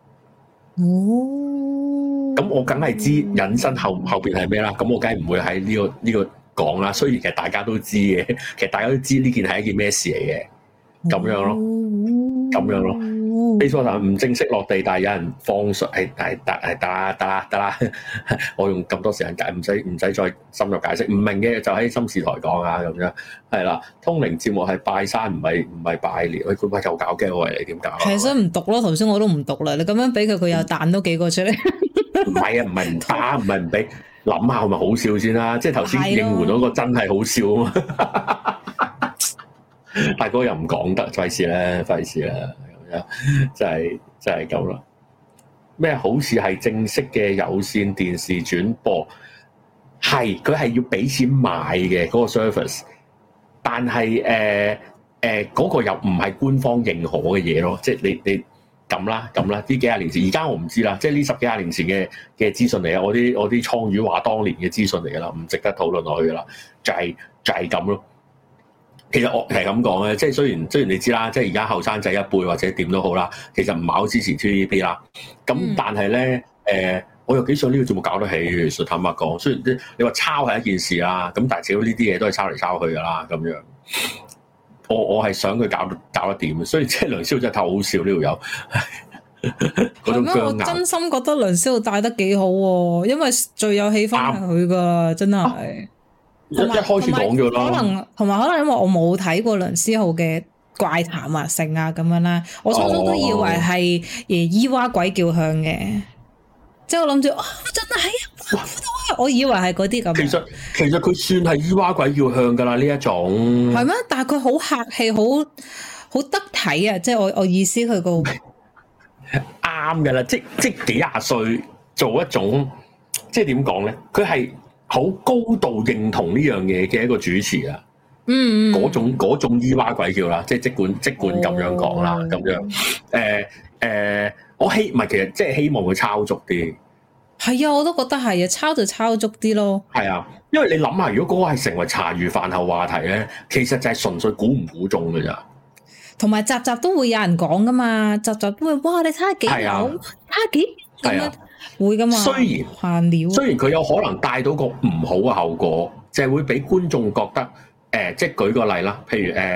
咁我梗係知引申後邊係咩啦。咁我梗係唔會喺呢個講啦。雖然其實大家都知嘅，其實大家都知呢件係一件咩事嚟嘅。咁樣咯，咁樣咯。Facebook 唔正式落地，但係有人放水，得啦。我用咁多時間解，唔使再深入解釋。唔明嘅就喺心事台講啊，咁樣係啦。通靈節目係拜山，唔係拜年。佢咪又搞驚喎？你點搞？ 其實唔讀咯，頭先我都唔讀啦。你咁樣俾佢又彈多幾個出嚟。 唔係啊，唔係唔打，唔係唔俾。諗下係咪好笑先啦？即係頭先應援嗰個真係好笑啊嘛！大哥又唔講得，費事啦，咁樣就係咁啦。咩好似係正式嘅有線電視轉播，係佢係要俾錢買嘅嗰個 service， 但係嗰個又唔係官方認可嘅嘢咯。即係你咁啦，呢幾廿年前，而家我唔知啦。即係呢10幾廿年前嘅資訊嚟啊！我啲倉魚話當年嘅資訊嚟噶啦，唔值得討論落去噶啦，就係咁咯。其實我係咁講咧，即係雖然你知啦，即係而家後生仔一輩或者點都好啦，其實唔係好支持 TVB 啦。咁但係咧，我又幾想呢個節目搞得起。其實坦白講，雖然你話抄係一件事啦，咁但係至少呢啲嘢都係抄嚟抄去噶啦，咁樣。我係想佢搞得掂，所以即係梁思浩真係太好笑呢條友。 係咩？我真心覺得梁思浩帶得幾好喎，因為最有氣氛係佢噶，真係。一開始講咗啦，可能因為我冇睇過梁思浩嘅怪談啊、成啊咁樣啦，我初初都以為係伊娃鬼叫響嘅，即係我諗住真係我以為係嗰啲咁。 其實佢算係伊娃鬼叫響噶啦呢一種。 係咩？但係佢好客氣，好得體啊！即係我意思佢個啱噶啦，即幾廿歲做一種，即係點講咧？佢係好高度認同呢樣嘢嘅一個主持啊，嗰種伊娃鬼叫啦，即係即管咁樣講啦，咁樣我唔係其實即係希望佢抄足啲， 係啊，我都覺得係啊，抄就抄足啲咯， 係啊，因為你諗下，如果嗰個係成為茶餘飯後話題咧，其實就係純粹估唔估中㗎咋，同埋集集都會有人講噶嘛，集集都會哇，你睇下幾好，睇下幾咁樣。會噶嘛？雖然佢有可能帶到個唔好嘅後果，就係會俾觀眾覺得即係舉個例啦，譬如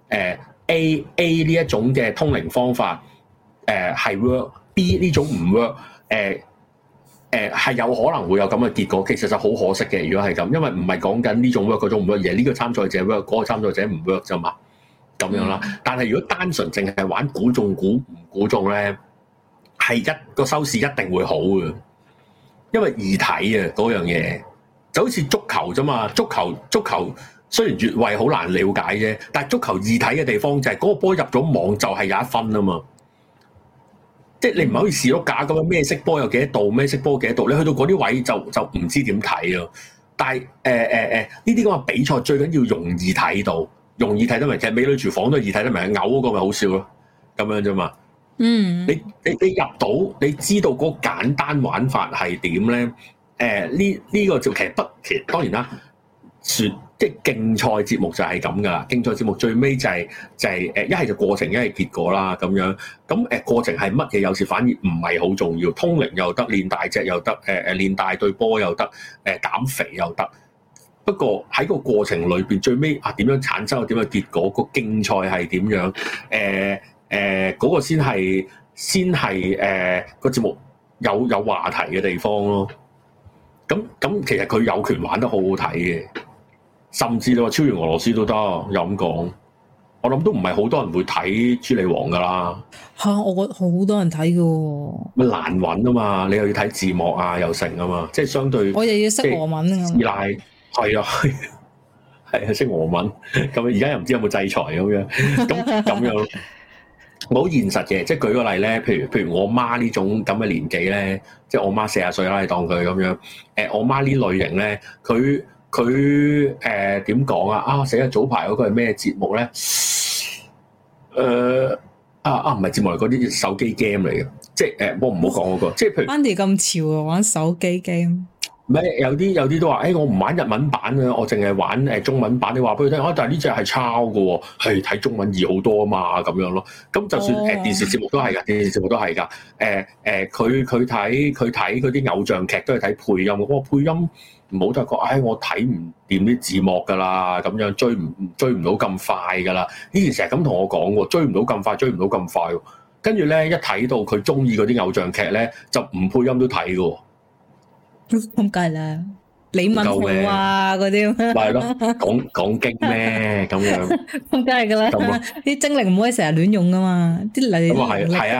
A 呢一種嘅通靈方法係 work，B 呢種唔 work，係有可能會有咁嘅結果。其實就好可惜嘅，如果係咁，因為唔係講緊呢種 work 嗰種唔 work，而係呢個參賽者 work，嗰個參賽者唔 work 啫嘛，咁樣啦。但係如果單純淨係玩估中估唔估中咧，係一個收視一定會好嘅，因為易睇啊嗰樣嘢，就好似足球啫嘛。足球雖然越位好難了解啫，但係足球易睇嘅地方就係嗰個波入咗網就係有一分啊嘛。即係你唔係好似士碌架咁樣咩色波有幾多度，咩色波幾多度，你去到嗰啲位就唔知點睇咯。但係呢啲咁嘅比賽最緊要容易睇到，容易睇得明。其實美女廚房都易睇得明，嘔嗰個咪好笑咯，咁樣啫嘛。你入到，你知道嗰個簡單玩法係點咧？呢個就其實當然啦，即係競賽節目就係咁噶啦。競賽節目最尾就係一係就過程，一係結果啦咁樣。咁過程係乜嘢？有時反而唔係好重要。通靈又得，練大隻又得，練大對波又得，減肥又得。不過喺個過程裏邊，最尾點樣產生點樣結果？個競賽係點樣？嗰個先係個節目有話題嘅地方咯。咁其實佢有權玩得好好睇嘅，甚至你話超越俄羅斯都得。又咁講，我諗都唔係好多人會睇朱莉王噶啦。 我覺得好多人睇嘅。咪難揾啊嘛，你又要睇字幕啊，又成啊嘛，即係相對。我又要識俄文啊。師奶係啊。係啊，識俄文咁，而家又唔知有冇制裁咁樣，咁樣好現實嘅。即係舉個例咧，譬如我媽呢種咁嘅年紀咧，即係我媽40歲啦，你當佢咁樣。我媽呢類型咧，佢點講啊？死啦！早排嗰個係咩節目咧？唔係節目嚟，嗰啲手機 game 嚟嘅。即係唔好講嗰個。即係譬如 Andy 咁潮啊，玩手機 game。 咩有啲都話，我唔玩日文版啊，我淨係玩中文版。你話俾佢聽，但係呢隻係抄嘅喎，係睇中文易好多啊嘛，咁樣咯。咁就算電視節目都係㗎，電視節目都係㗎。佢睇嗰啲偶像劇都係睇配音。我配音唔好得講，我睇唔掂啲字幕㗎啦，咁樣追唔到咁快㗎啦。以前成日咁同我講喎，追唔到咁快，追唔到咁快。跟住咧一睇到佢中意嗰啲偶像劇咧，就唔配音都睇嘅喎。 咁梗係啦，李敏鎬啊嗰啲，咪係咯，講經咩咁樣？ 咁梗係噶啦，啲精靈唔可以成日亂用噶嘛，啲嚟咁啊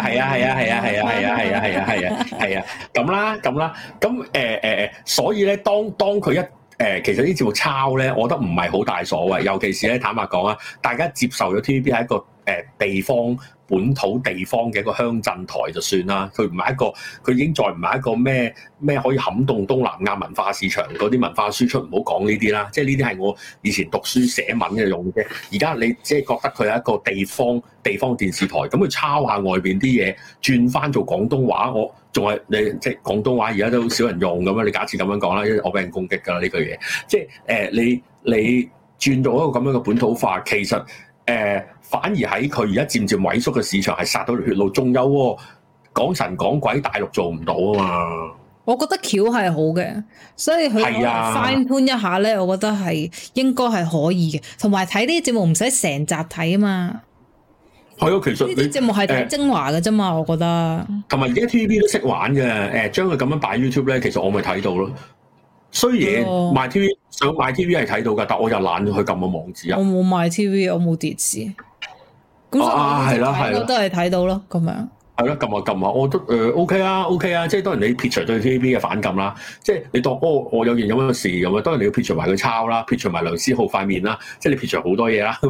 係啊，咁啦，咁所以咧，當佢一其實啲節目抄咧，我覺得唔係好大所謂，尤其是咧，坦白講啊，大家接受咗 TVB 係一個地方本土地方嘅一個鄉鎮台就算啦，佢唔係一個，佢已經再唔係一個咩可以撼動東南亞文化市場嗰啲文化輸出，唔好講呢啲啦，即係呢啲係我以前讀書寫文嘅用嘅。而家你只係覺得佢係一個地方電視台，咁佢抄下外邊啲嘢，轉翻做廣東話，我仲係你即係廣東話而家都少人用咁樣，你假設咁樣講啦，因為我俾人攻擊㗎啦呢句嘢，即係你轉到一個咁樣嘅本土化，其實反而喺佢而家漸漸萎縮嘅市場係殺到條血路，仲有喎，講神講鬼大陸做唔到啊嘛！ 我覺得橋係好嘅，所以佢 fine tune 一下咧，我覺得係應該係可以嘅。同埋睇呢啲節目唔使成集睇啊嘛。 係啊，其實呢啲節目係睇精華嘅啫嘛，我覺得。同埋而家 TVB 都識玩嘅，將佢咁樣擺 YouTube 咧，其實我咪睇到咯。衰嘢賣 TV 想買 TV 係睇到㗎，但我又懶咗去撳個網址啊。 我冇買 TV，我冇電視。咁係啦，都係睇到咯，咁樣。 係咯，撳下，我覺得OK 啊，即係當然你撇除對 TVB 嘅反感啦，即係你當我有件咁樣嘅事咁啊，當然你要撇除埋佢抄啦，撇除埋梁思浩塊面啦，即係你撇除好多嘢啦。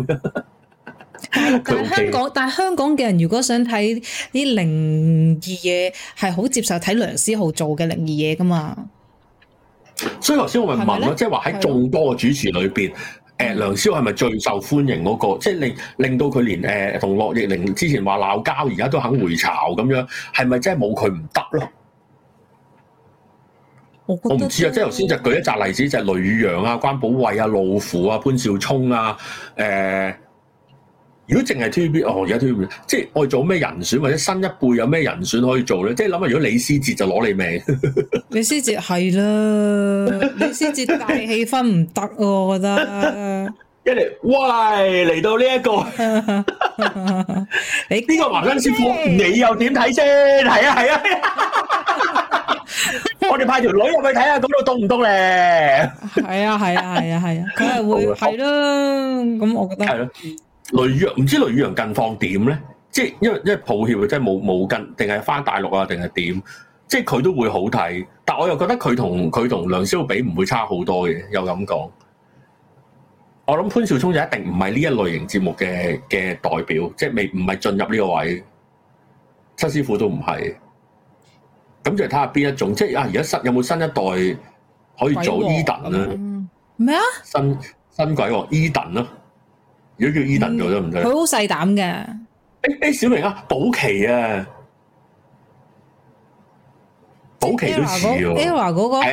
但係香港嘅人如果想睇啲靈異嘢，係好接受睇梁思浩做嘅靈異嘢噶嘛。 所以頭先我咪問咯，即係話喺眾多嘅主持裏邊。梁思浩係咪最受歡迎嗰個？即係令到佢連同樂易玲之前話鬧交，而家都肯回巢咁樣，係咪真係冇佢唔得咯？我唔知啊，即係頭先就舉一紮例子，就係雷宇揚啊、關寶慧啊、路虎啊、潘紹聰啊，如果淨係 TVB，而家 TVB 即係我哋做咩人選，或者新一輩有咩人選可以做咧？即係諗下，如果李思捷就攞你命。 李思捷係啦，李思捷大氣氛唔得喎，我覺得。 一嚟，喂，嚟到呢一個，你呢個華根師傅，你又點睇先？係啊，我哋派條女入去睇下，嗰度凍唔凍咧？係啊，佢係會係啦。咁我覺得係咯。雷宇揚唔知雷宇揚近況點咧？即係因為抱歉，即係冇近，定係翻大陸啊？定係點？即係佢都會好睇，但我又覺得佢同梁思浩比唔會差好多嘅，又咁講。我諗潘紹聰就一定唔係呢一類型節目嘅代表，即係唔係進入呢個位。七師傅都唔係，咁就睇下邊一種。即係而家有冇新一代可以做 Eden 啊？ 咩啊？ 新鬼王 Eden 咯。如果叫 Eden 做得唔得？ 佢好細膽嘅。 小明啊，保期啊，保期都似喎。 Era 嗰個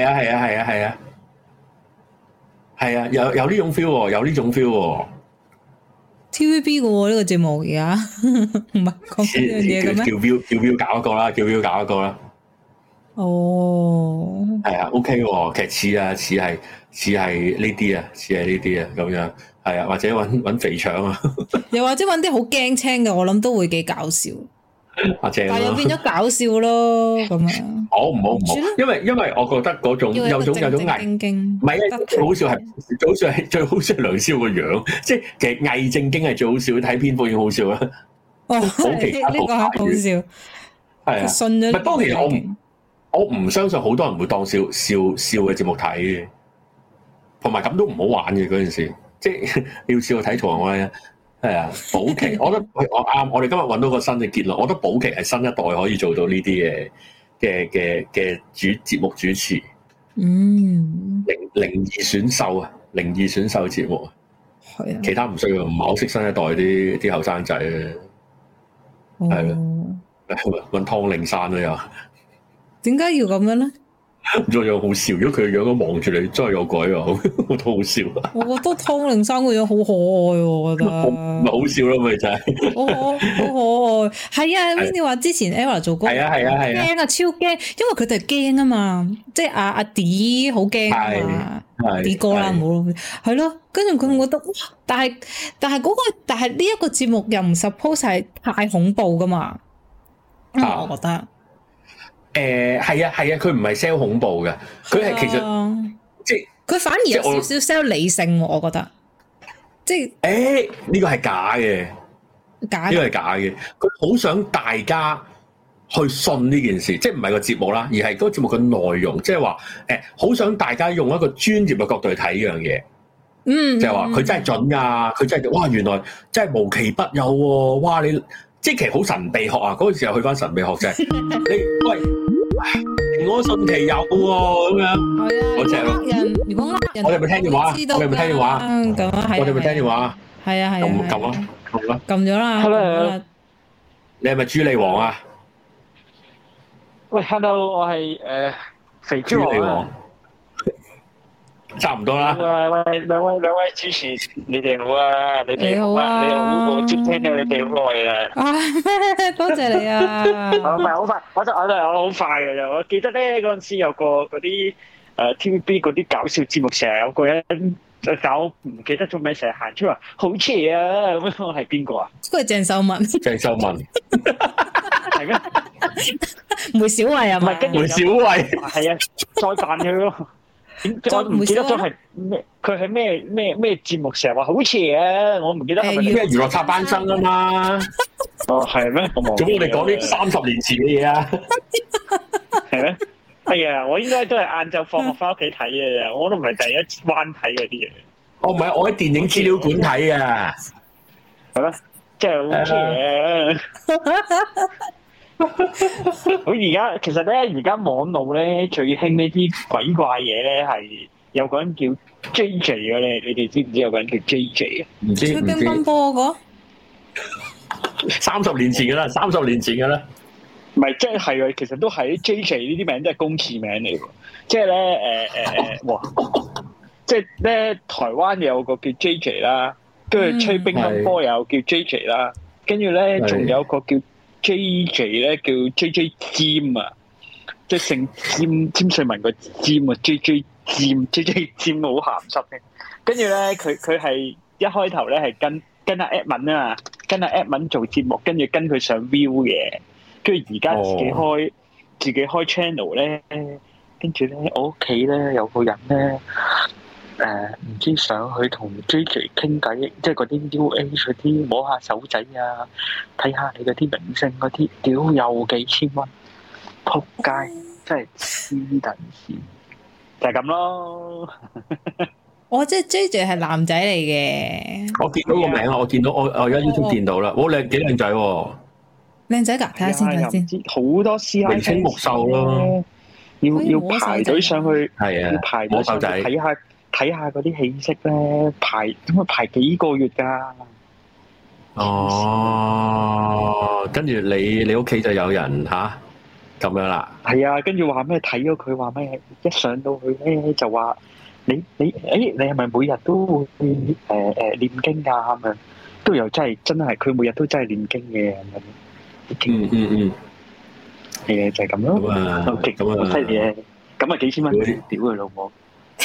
係啊，有呢種 feel 喎，有呢種 feel 喎。 TVB 嘅喎呢個節目而家唔係講呢樣嘢嘅咩？ 叫標搞一個啦。 哦， 係啊 ，OK 喎，其實似係呢啲啊，咁樣。係啊，或者揾肥腸啊， 又或者揾啲好驚青嘅，我諗都會幾搞笑。但係又變咗搞笑咯，咁樣。 唔好，因為我覺得嗰種有種偽，唔係啊，最好笑係梁思浩個樣，即係其實偽正經係最好笑，睇蝙蝠已經好笑啦。好其他好笑。係啊，信咗。不過其實我唔相信好多人會當笑嘅節目睇嘅，同埋咁都唔好玩嘅嗰陣時。即係要試過睇同我咧，係啊，保期，我覺得我啱，我哋今日揾到個新嘅結論，我覺得保期係新一代可以做到呢啲嘅節目主持，靈異選秀啊，靈異選秀節目啊，係啊，其他唔需要，唔係好識新一代啲後生仔啊，係咯，揾湯令山都有， 點解要咁樣咧？ 唔知有好笑，如果佢個樣咁望住你，真係有鬼啊！我都好笑。 我覺得湯令山個樣好可愛喎，我覺得。 唔係好笑咯，咪就係。 好可愛，係啊 Vinny 話之前 Ella 做工， 係啊， 驚啊，超驚，因為佢哋驚啊嘛，即係阿 D 好驚啊嘛，D 哥啦，唔好係咯，跟住佢覺得哇，但係呢一個節目又唔 suppose 係太恐怖噶嘛，我覺得。 係啊，佢唔係 sell 恐怖嘅，佢係其實即係佢反而有少少 sell 理性，我覺得即係呢個係假嘅，呢個係假嘅。佢好想大家去信呢件事，即係唔係個節目啦，而係嗰個節目嘅內容，即係話好想大家用一個專業嘅角度去睇呢樣嘢，就係話佢真係準㗎，佢真係哇原來真係無奇不有喎，哇你即係其實好神秘學啊！嗰陣時候去翻神秘學啫，你喂。我信其有喎，咁樣嗰隻咯。如果呃人，我哋咪聽電話，我哋咪聽電話。咁啊，我哋咪聽電話。係啊，撳啊，撳啦，撳咗啦。Hello，你係咪豬脷王啊？ 喂 ，Hello， 我係肥豬王。 差唔多啦。 喂，兩位主持，你哋好啊！你哋好啊！你好，我接聽咗你哋好耐啦。 多謝你啊！ 唔係好快，我好快嘅啫。我記得咧嗰陣時有個嗰啲TVB 嗰啲搞笑節目，成日有個人搞唔記得咗咩，成日行出話好邪啊！咁樣係邊個啊？ 嗰係鄭秀文。鄭秀文係咩？ 梅小慧啊？ 唔係，跟住梅小慧係啊，再扮佢咯。我唔記得咗係咩，佢係咩節目成日話好邪啊！我唔記得係咪咩娛樂插班生啊嘛？ 哦，係咩？做咩我哋講啲30年前嘅嘢啊？ 係咩？係啊！我應該都係晏晝放學翻屋企睇嘅啫，我都唔係第一彎睇嗰啲嘢。 哦，唔係，我喺電影資料館睇啊。 係咩？真係好邪啊！好而家其實咧，而家網路咧最興呢啲鬼怪嘢咧，係有個人叫 JJ 嘅，你哋知唔知有個人叫 JJ 啊？ 唔知。 吹乒乓波嗰個 30年前噶啦，30年前噶啦。 唔係，即係其實都係 JJ 呢啲名都係公廁名嚟嘅，即係咧哇！即係咧台灣有個叫 JJ 啦，跟住吹乒乓波又叫 JJ 啦，跟住咧仲有個叫 JJ 咧叫 JJ 尖啊，即係姓詹瑞文個尖啊 ，JJ 尖好鹹濕嘅。跟住咧佢係一開頭咧係跟阿 Edmond 啊，跟阿 Edmond 做節目，跟住跟佢上 View 嘅，跟住而家自己開 channel 咧，跟住咧我屋企咧有個人咧唔知上去同 JJ 傾偈，即係嗰啲 UA 嗰啲摸下手仔啊，睇下你嗰啲明星嗰啲，屌又幾千蚊，仆街，真係黐撚線，就係咁咯。 我即係 JJ 係男仔嚟嘅， 我見到個名啊，我見到我而家 YouTube 見到啦，好靚，幾靚仔喎， 靚仔㗎，睇下先，睇下先， 好多師奶， 明星目秀咯， 要排隊上去， 係啊， 要排隊上去睇下嗰啲戲色咧，排幾個月㗎。 哦，跟住你屋企就有人嚇咁樣啦。係啊，跟住話咩睇咗佢話咩，一上到去咧就話你係咪每日都會唸經㗎咁樣？都有真係佢每日都真係唸經嘅咁樣。係啊，就係咁咯。咁啊，好犀利嘅。咁啊幾千蚊，屌佢老母！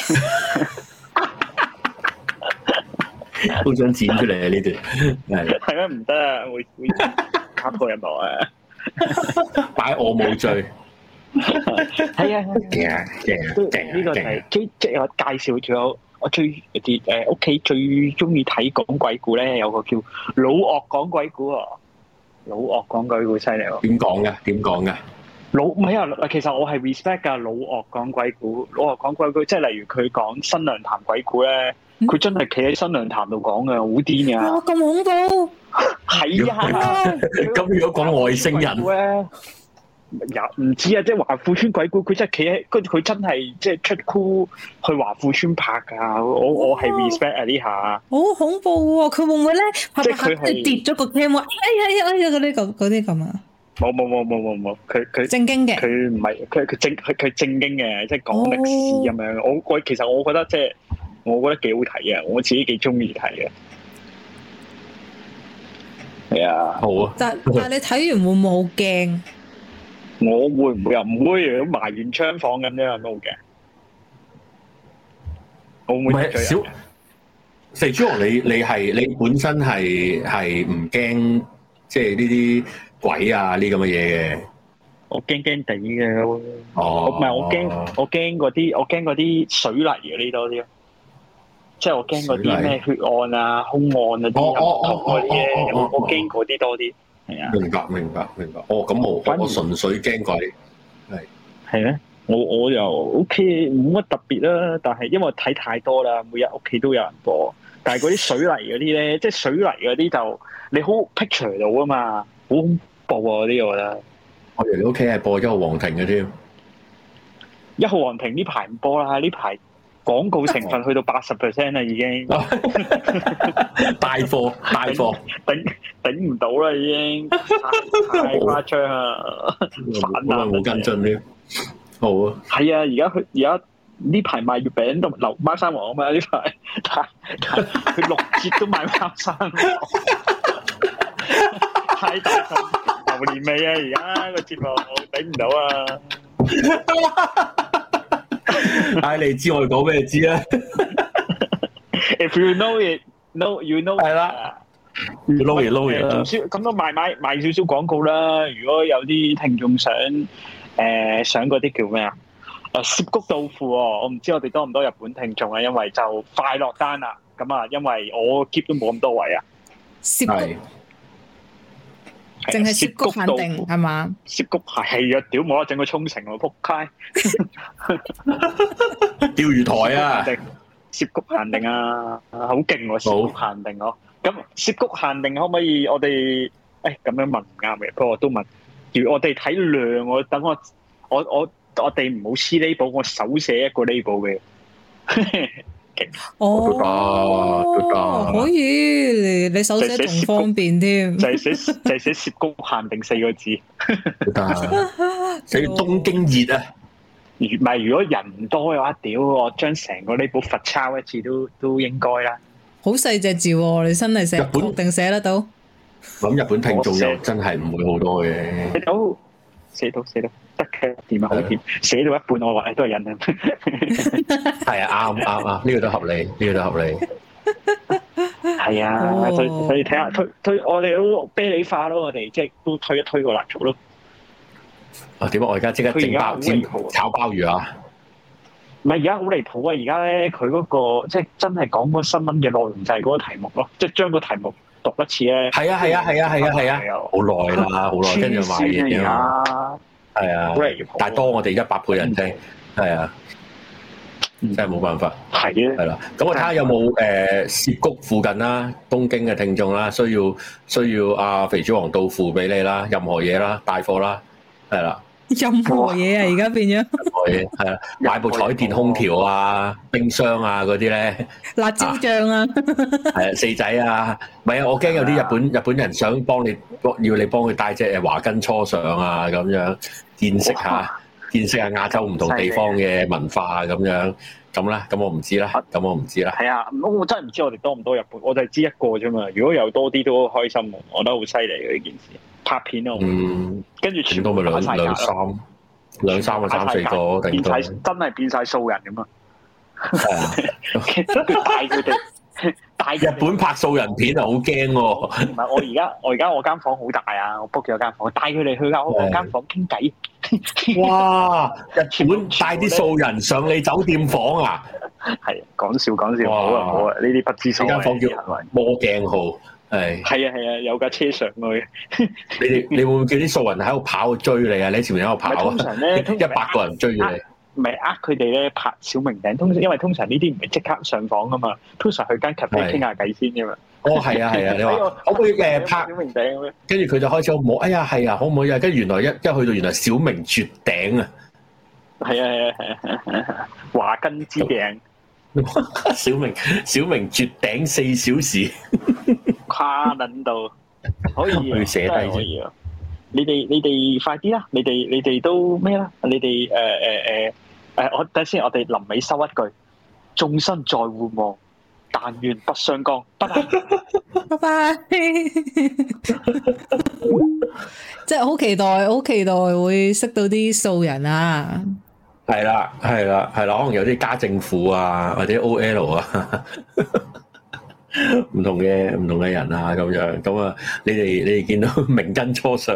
好想剪出嚟啊！呢段係咩唔得啊？會卡破人幕啊！ 擺我冇罪。 係啊，勁呢個係即係我介紹咗我最啲屋企最中意睇講鬼故咧，有個叫老岳講鬼故啊！老岳講鬼故犀利喎！ 點講嘅？點講嘅？ 唔係啊！其實我係 respect 㗎。老岳講鬼故，老岳講鬼故，即係例如佢講新娘潭鬼故咧，佢真係企喺新娘潭度講嘅，好癲㗎！ 哇，咁恐怖！ 係啊！ 咁如果講外星人咧，唔知啊！即係華富村鬼故，佢真係企喺佢真係即係出 cool 去華富村拍㗎。我係 respect 啊呢下。好恐怖喎！佢會唔會咧？ 即係佢係跌咗個 cam 啊！哎呀嗰啲咁啊！ 冇，佢正經嘅， 佢唔係佢正經嘅，即係講歷史咁樣。我其實我覺得即係我覺得幾好睇嘅，我自己幾中意睇嘅。係啊， 好啊。 但係你睇完會唔會好驚？ 我會唔會啊？唔會，如果埋完槍房咁樣都好驚。我唔會小肥豬王，你本身係唔驚即係呢啲鬼啊呢咁嘅嘢嘅？ 我驚驚地嘅。 哦， 唔係我驚嗰啲水泥嗰啲多啲咯。即係我驚嗰啲咩血案啊、兇案啊啲唔同嗰啲咧，我驚嗰啲多啲。係啊， 明白。哦，咁我純粹驚鬼。 係咩？我又 OK， 冇乜特別啦。但係因為睇太多啦，每日屋企都有人播。但係嗰啲水泥嗰啲咧，即係水泥嗰啲就你好 picture 到啊嘛，好恐怖啊嗰啲我覺得。 我哋你屋企係播1號皇庭嘅添。 1號皇庭呢排唔播啦，呢排廣告成分去到80% 啦已經。 大貨， 頂唔到啦已經，太誇張啦， 煩啊！冇跟進添。好啊。係啊，而家呢排賣月餅都留貓山王啊嘛，呢排佢6折都賣貓山王，太大份榴蓮味啊！而家個節目頂唔到啊！ 唉，你知我哋講咩知啊 ？If you know it, no, you know 係啦。撈嘢啦。 咁都賣少少廣告啦。如果有啲聽眾想嗰啲叫咩啊？涉谷豆腐我唔知我哋多唔多日本聽眾啊，因為就快落單啦。咁啊，因為我 keep 都冇咁多位啊。 涉谷淨係涉谷限定係嘛？ 涉谷係啊，屌冇得整個沖繩喎，仆街！ 釣魚台啊！ 涉谷限定啊，好勁喎！涉谷限定哦。咁涉谷限定可唔可以我哋咁樣問唔啱嘅？不過我都問。如我哋睇量，我哋唔好黐 label，我手寫一個 label 嘅。 哦，可以，你手寫仲方便添。 就係寫涉谷限定4個字。 寫東京熱啊！ 唔係，如果人多嘅話，屌我將成個 label 罰抄一次都應該啦。 好細隻字喎，你真係寫定寫得到？ 咁日本聽眾又真係唔會好多嘅。 寫到得嘅，掂啊，好掂。寫到一半我話都係人啊。 係啊，啱，呢個都合理。 係啊，所以睇下推我哋都啤梨化咯，我哋即係都推一推個蠟燭咯。 點解我而家即刻整炒鮑魚啊？ 唔係而家好離譜啊！而家咧佢嗰個即係真係講個新聞嘅內容就係嗰個題目咯，即係將個題目讀一次咧。係啊，好耐啦，跟住買嘢啊。係啊，但係多我哋100倍人聽，係啊，真係冇辦法。係啦，咁我睇下有冇涉谷附近啦，東京嘅聽眾啦，需要阿肥豬王到付俾你啦，任何嘢啦，帶貨啦，係啦。 任何嘢啊！而家變咗任何嘢係啊，買部彩電空調啊、冰箱啊嗰啲咧， 辣椒醬啊， 係啊，四仔啊，唔係啊，我驚有啲日本人想要你幫佢帶隻華根初上啊，咁樣見識下亞洲唔同地方嘅文化啊，咁樣咁啦，咁我唔知啦，係啊，我真係唔知我哋多唔多日本，我就係知一個啫嘛。如果有多啲都開心，我覺得好犀利嘅呢件事。拍片咯，跟住全部咪兩三個、3、4個，變晒真係變晒素人咁啊！係啊，帶佢哋日本拍素人片啊，好驚喎！唔係我而家我間房好大啊，我 book 咗間房，帶佢哋去我間房傾偈。哇！日本帶啲素人上你酒店房啊？係講笑，好啊！呢啲不知所謂。間房叫魔鏡號。係啊，有架車上去。你會唔會叫啲素人喺度跑追你啊？你喺前面喺度跑啊？通常咧，100個人追住你。唔係佢哋咧拍小明頂，因為通常呢啲唔係即刻上房噶嘛，通常去間 cafe 傾下偈先噶嘛。哦，係啊，你話可唔可以拍小明頂咁樣？跟住佢就開始好唔好？哎呀，係啊，可唔可以啊？跟住原來一去到原來小明絕頂啊！係啊，華根之頂。小明絕頂4小時，跨撚到可以寫低先。 你哋快啲啦！你哋都咩啦？你哋我等先，我哋臨尾收一句：眾生在互望，但願不相干。拜拜， 拜拜。即係好期待會識到啲素人啊！ 係啦，可能有啲家政婦啊，或者 OL 啊。唔同嘅人啊，咁樣咁啊，你哋見到明根初上，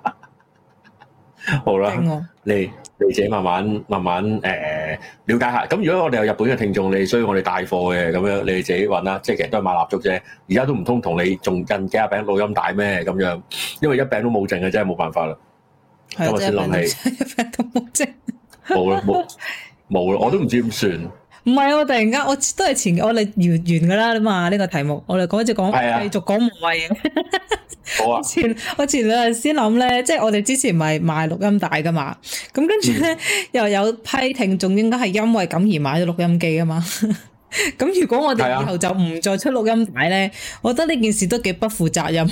好啦，你自己慢慢了解下。咁如果我哋有日本嘅聽眾，你需要我哋帶貨嘅，咁樣你哋自己揾啦。即係其實都係買蠟燭啫，而家都唔通同你仲印幾廿餅錄音帶咩？咁樣，因為一餅都冇剩嘅，真係冇辦法啦。咁我先諗起， 一餅都冇剩， 冇啦，我都唔知點算。 唔係，我突然間我都係我哋完噶啦嘛，呢個題目我哋繼續講無謂嘢。 好啊！ 我前兩日先諗咧，即係我哋之前咪賣錄音帶噶嘛，咁跟住咧又有批聽眾應該係因為咁而買咗錄音機啊嘛。咁如果我哋以後就唔再出錄音帶咧，我覺得呢件事都幾不負責任。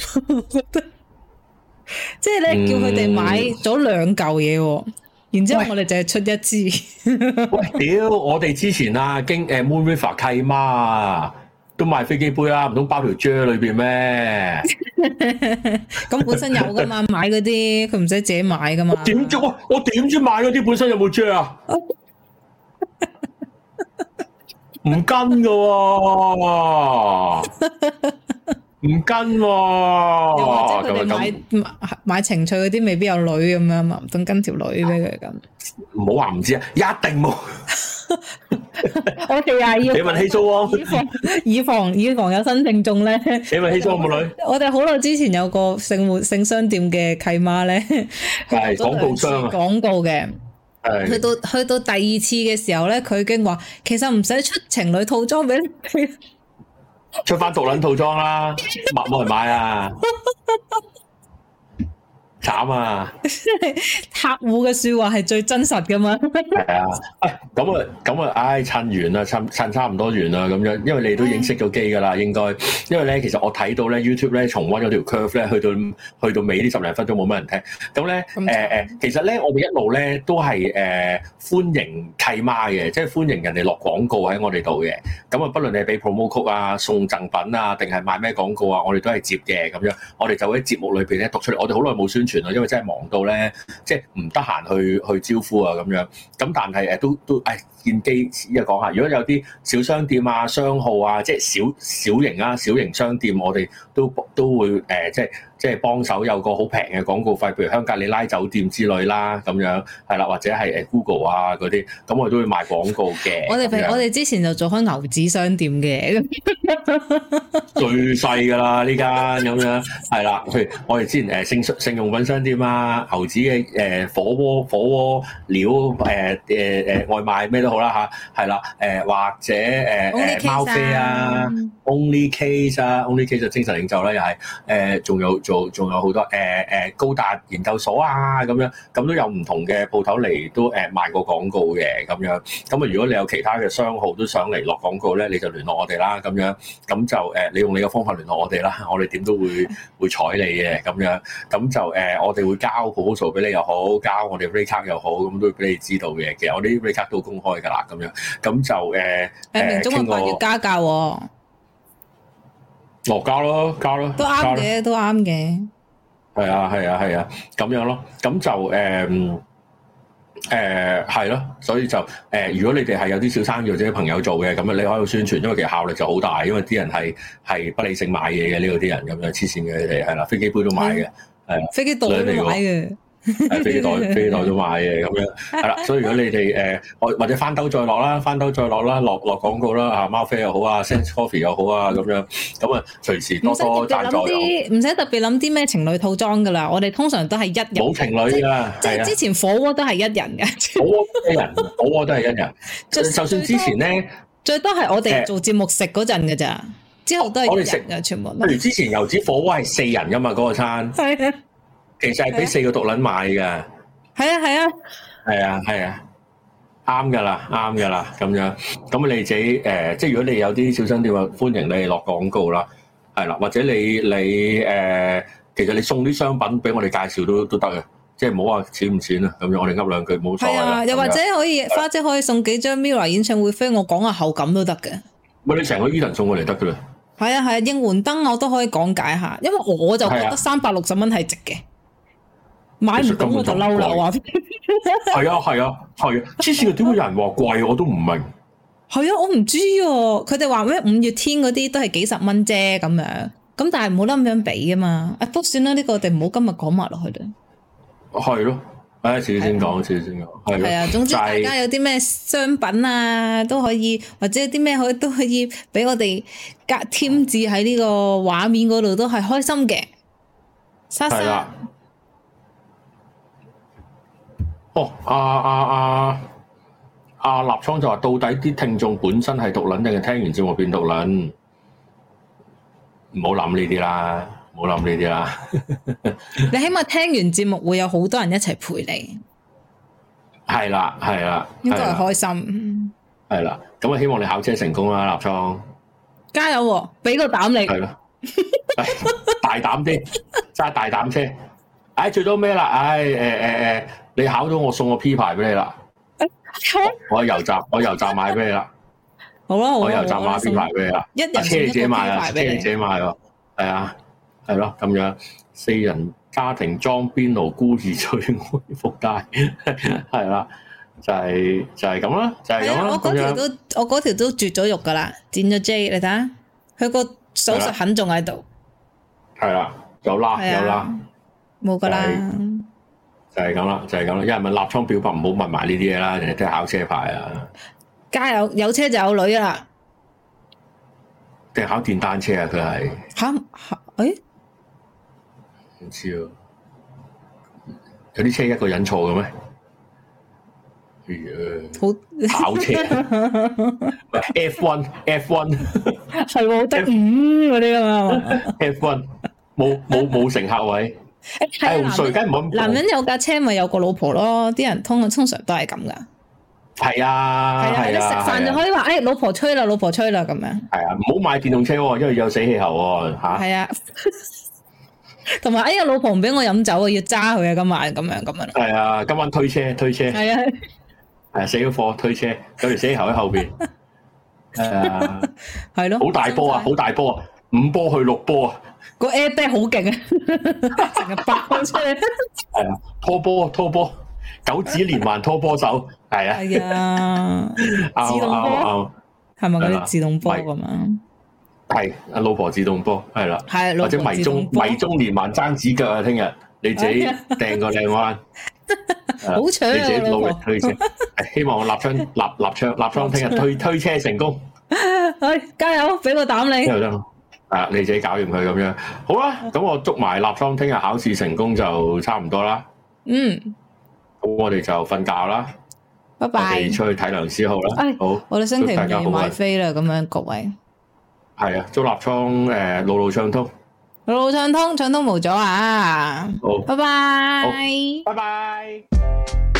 即係咧叫佢哋買咗2嚿嘢。然之後我哋就係出一支。 喂，屌！我哋之前啊，經Moon River 契媽啊，都賣飛機杯啦，唔通包條啫裏邊咩？ 咁本身有噶嘛，買嗰啲佢唔使自己買噶嘛。 點知我點知買嗰啲本身有冇啫啊？唔跟噶喎。唔跟喎， 又或者佢哋買情趣嗰啲未必有女咁樣嘛，唔通跟條女俾佢咁？ 唔好話唔知啊，一定冇。 我哋啊要你問希蘇汪， 以防有新聽眾咧。 你問希蘇汪冇女？ 我哋好耐之前有個性商店嘅契媽咧， 係廣告商啊， 廣告嘅。去到第2次嘅時候咧，佢已經話其實唔使出情侶套裝俾你。 出翻獨撚套裝啦，冇人買啊！慘啊！ 客戶嘅說話係最真實噶嘛？ 係啊，咁啊，唉，趁完啦，趁差唔多完啦，咁樣，因為你都已經熄咗機噶啦，應該，因為咧，其實我睇到咧 YouTube 咧重溫嗰條 curve 咧，去到尾呢10零分鐘冇乜人聽，咁咧其實咧我哋一路咧都係歡迎契媽嘅，即係歡迎人哋落廣告喺我哋度嘅，咁啊，不論你係俾 promo code 啊、送贈品啊，定係賣咩廣告啊，我哋都係接嘅，咁樣，我哋就喺節目裏邊咧讀出嚟，我哋好耐冇宣傳啦，因為真係忙到咧，即係唔得閒去招呼啊咁樣。咁但係都見機依家講下，如果有啲小商店啊、商號啊，即係小型商店，我哋都會即係幫手有個好平嘅廣告費，譬如香格里拉酒店之類啦，咁樣係啦，或者係Google 啊嗰啲，咁我哋都會賣廣告嘅。我哋之前就做開牛子商店嘅， 最細㗎啦呢間咁樣，係啦。譬如我哋之前性用品商店啊，牛子嘅火鍋料外賣咩都好啦嚇，係啦或者貓飛啊 ，Only Case 啊 ，Only Case 就精神領袖啦，又係仲有好多高達研究所啊咁樣，咁都有唔同嘅鋪頭嚟都賣過廣告嘅咁樣。咁啊，如果你有其他嘅商號都想嚟落廣告咧，你就聯絡我哋啦咁樣。咁就你用你嘅方法聯絡我哋啦，我哋點都會睬你嘅咁樣。咁就我哋會交 proposal 俾你又好，交我哋 rate card 又好，咁都會俾你知道嘅。其實我哋啲 rate card 都公開㗎啦，咁樣。咁就明中嘅話要加價喎。 交咯， 都啱嘅，都啱嘅。 係啊，咁樣咯。咁就係咯，所以就如果你哋係有啲小生意或者朋友做嘅，咁你可以宣傳，因為其實效力就好大，因為啲人係不理性買嘢嘅呢個啲人咁樣黐線嘅，你哋係啦，飛機杯都買嘅，係啊， 飛機袋都買嘅。 飛機袋都買嘅咁樣，係啦，所以如果你哋或者翻兜再落啦，落廣告啦，啊貓飛又好啊 ，Sense Coffee 又好啊，咁樣咁啊，隨時多贊助又唔使特別諗啲咩情侶套裝噶啦，我哋通常都係一人， 冇情侶噶， 即係之前火鍋都係一人嘅， 火鍋都係一人，就算之前咧， 最多係我哋做節目食嗰陣嘅咋，之後都係一人嘅全部。譬如之前油脂火鍋係4人噶嘛，嗰個餐。係啊。其實係俾4個獨撚買㗎，係啊，啱㗎啦，咁樣，咁你自己即係如果你有啲小商店話，歡迎你落廣告啦，係啦，或者你其實你送啲商品俾我哋介紹都得嘅，即係唔好話錢唔錢啊，咁樣我哋噏兩句冇錯。係啊， 又或者可以花姐可以送幾張 Mirror 演唱會飛，我講下後感都得嘅。 喂，你成個 Eden 送過嚟得噶啦。 係啊，應援燈我都可以講解下，因為我就覺得360蚊係值嘅，買唔到我就嬲啦，我話。 係啊，之前點解有人話貴，我都唔明。 係啊，我唔知啊，佢哋話咩5月天嗰啲都係幾十蚊啫咁樣，咁但係冇得咁樣比啊嘛，不過算啦，呢個我哋唔好今日講埋落去啦。 係咯，遲啲先講，係啊， 總之大家有啲咩商品啊都可以，或者有啲咩都可以俾我哋添置喺呢個畫面嗰度，都係開心嘅。莎莎， 哦，立倉就話到底啲聽眾本身係獨撚定係聽完節目變獨撚？唔好諗呢啲啦， 你起碼聽完節目會有好多人一齊陪你。 係啦， 應該係開心。 係啦，咁啊希望你考車成功啦，立倉。 加油喎！俾個膽你。係咯， 大膽啲，揸大膽車。最多咩啦？你考到我送個 P 牌俾你啦。我喺油站買俾你啦。 好啦， 我油站買 P 牌俾你啦。車你自己買啊，車你自己買喎。係啊，係咯，咁樣4人家庭裝邊爐孤兒最愛福袋，係啦，就係咁啦，就係咁啦。 我嗰條都絕咗肉噶啦，剪咗 J， 你睇下，佢個手術痕仲喺度。係啦，有啦， 冇噶啦。 就係咁啦，有人問立倉表白，唔好問埋呢啲嘢啦，人哋都係考車牌啊。 加油，有車就有女啦。 定考電單車啊？佢係唔知啊？有啲車一個人坐嘅咩？ 好跑車F1 係喎，得5嗰啲噶嘛 ？F1 冇乘客位。 男人有架車咪有個老婆咯，啲人通常都係咁噶。 係啊， 你食飯就可以話，老婆吹啦咁樣。 係啊，唔好買電動車喎，因為有死氣喉喎嚇。 係啊，同埋老婆唔俾我飲酒啊，要揸佢啊，今晚咁樣。 係啊，今晚推車。係啊，係死咗貨推車，有條死氣喉喺後邊。 係咯， 好大波啊，5波去6波啊！ 個 airbag 好勁啊，成日爆出嚟。 係啊，拖波，九指連環拖波手，係啊。 係啊，自動波係咪嗰啲自動波咁啊？ 係阿老婆自動波，係啦， 係或者迷蹤連環爭指腳啊！聽日你自己掟個靚彎， 好搶啊！ 你自己努力推車，希望我立倉聽日推車成功。 加油，俾個膽你。 你自己搞掂佢咁樣，好啦，咁我祝埋立倉聽日考試成功就差唔多啦。咁我哋就瞓覺啦。拜拜。我哋出去睇梁思浩啦。好， 我哋星期5要買飛啦，咁樣各位。 係啊，祝立倉路暢通。 路暢通，暢通無阻啊！ 好， 拜拜。 拜拜。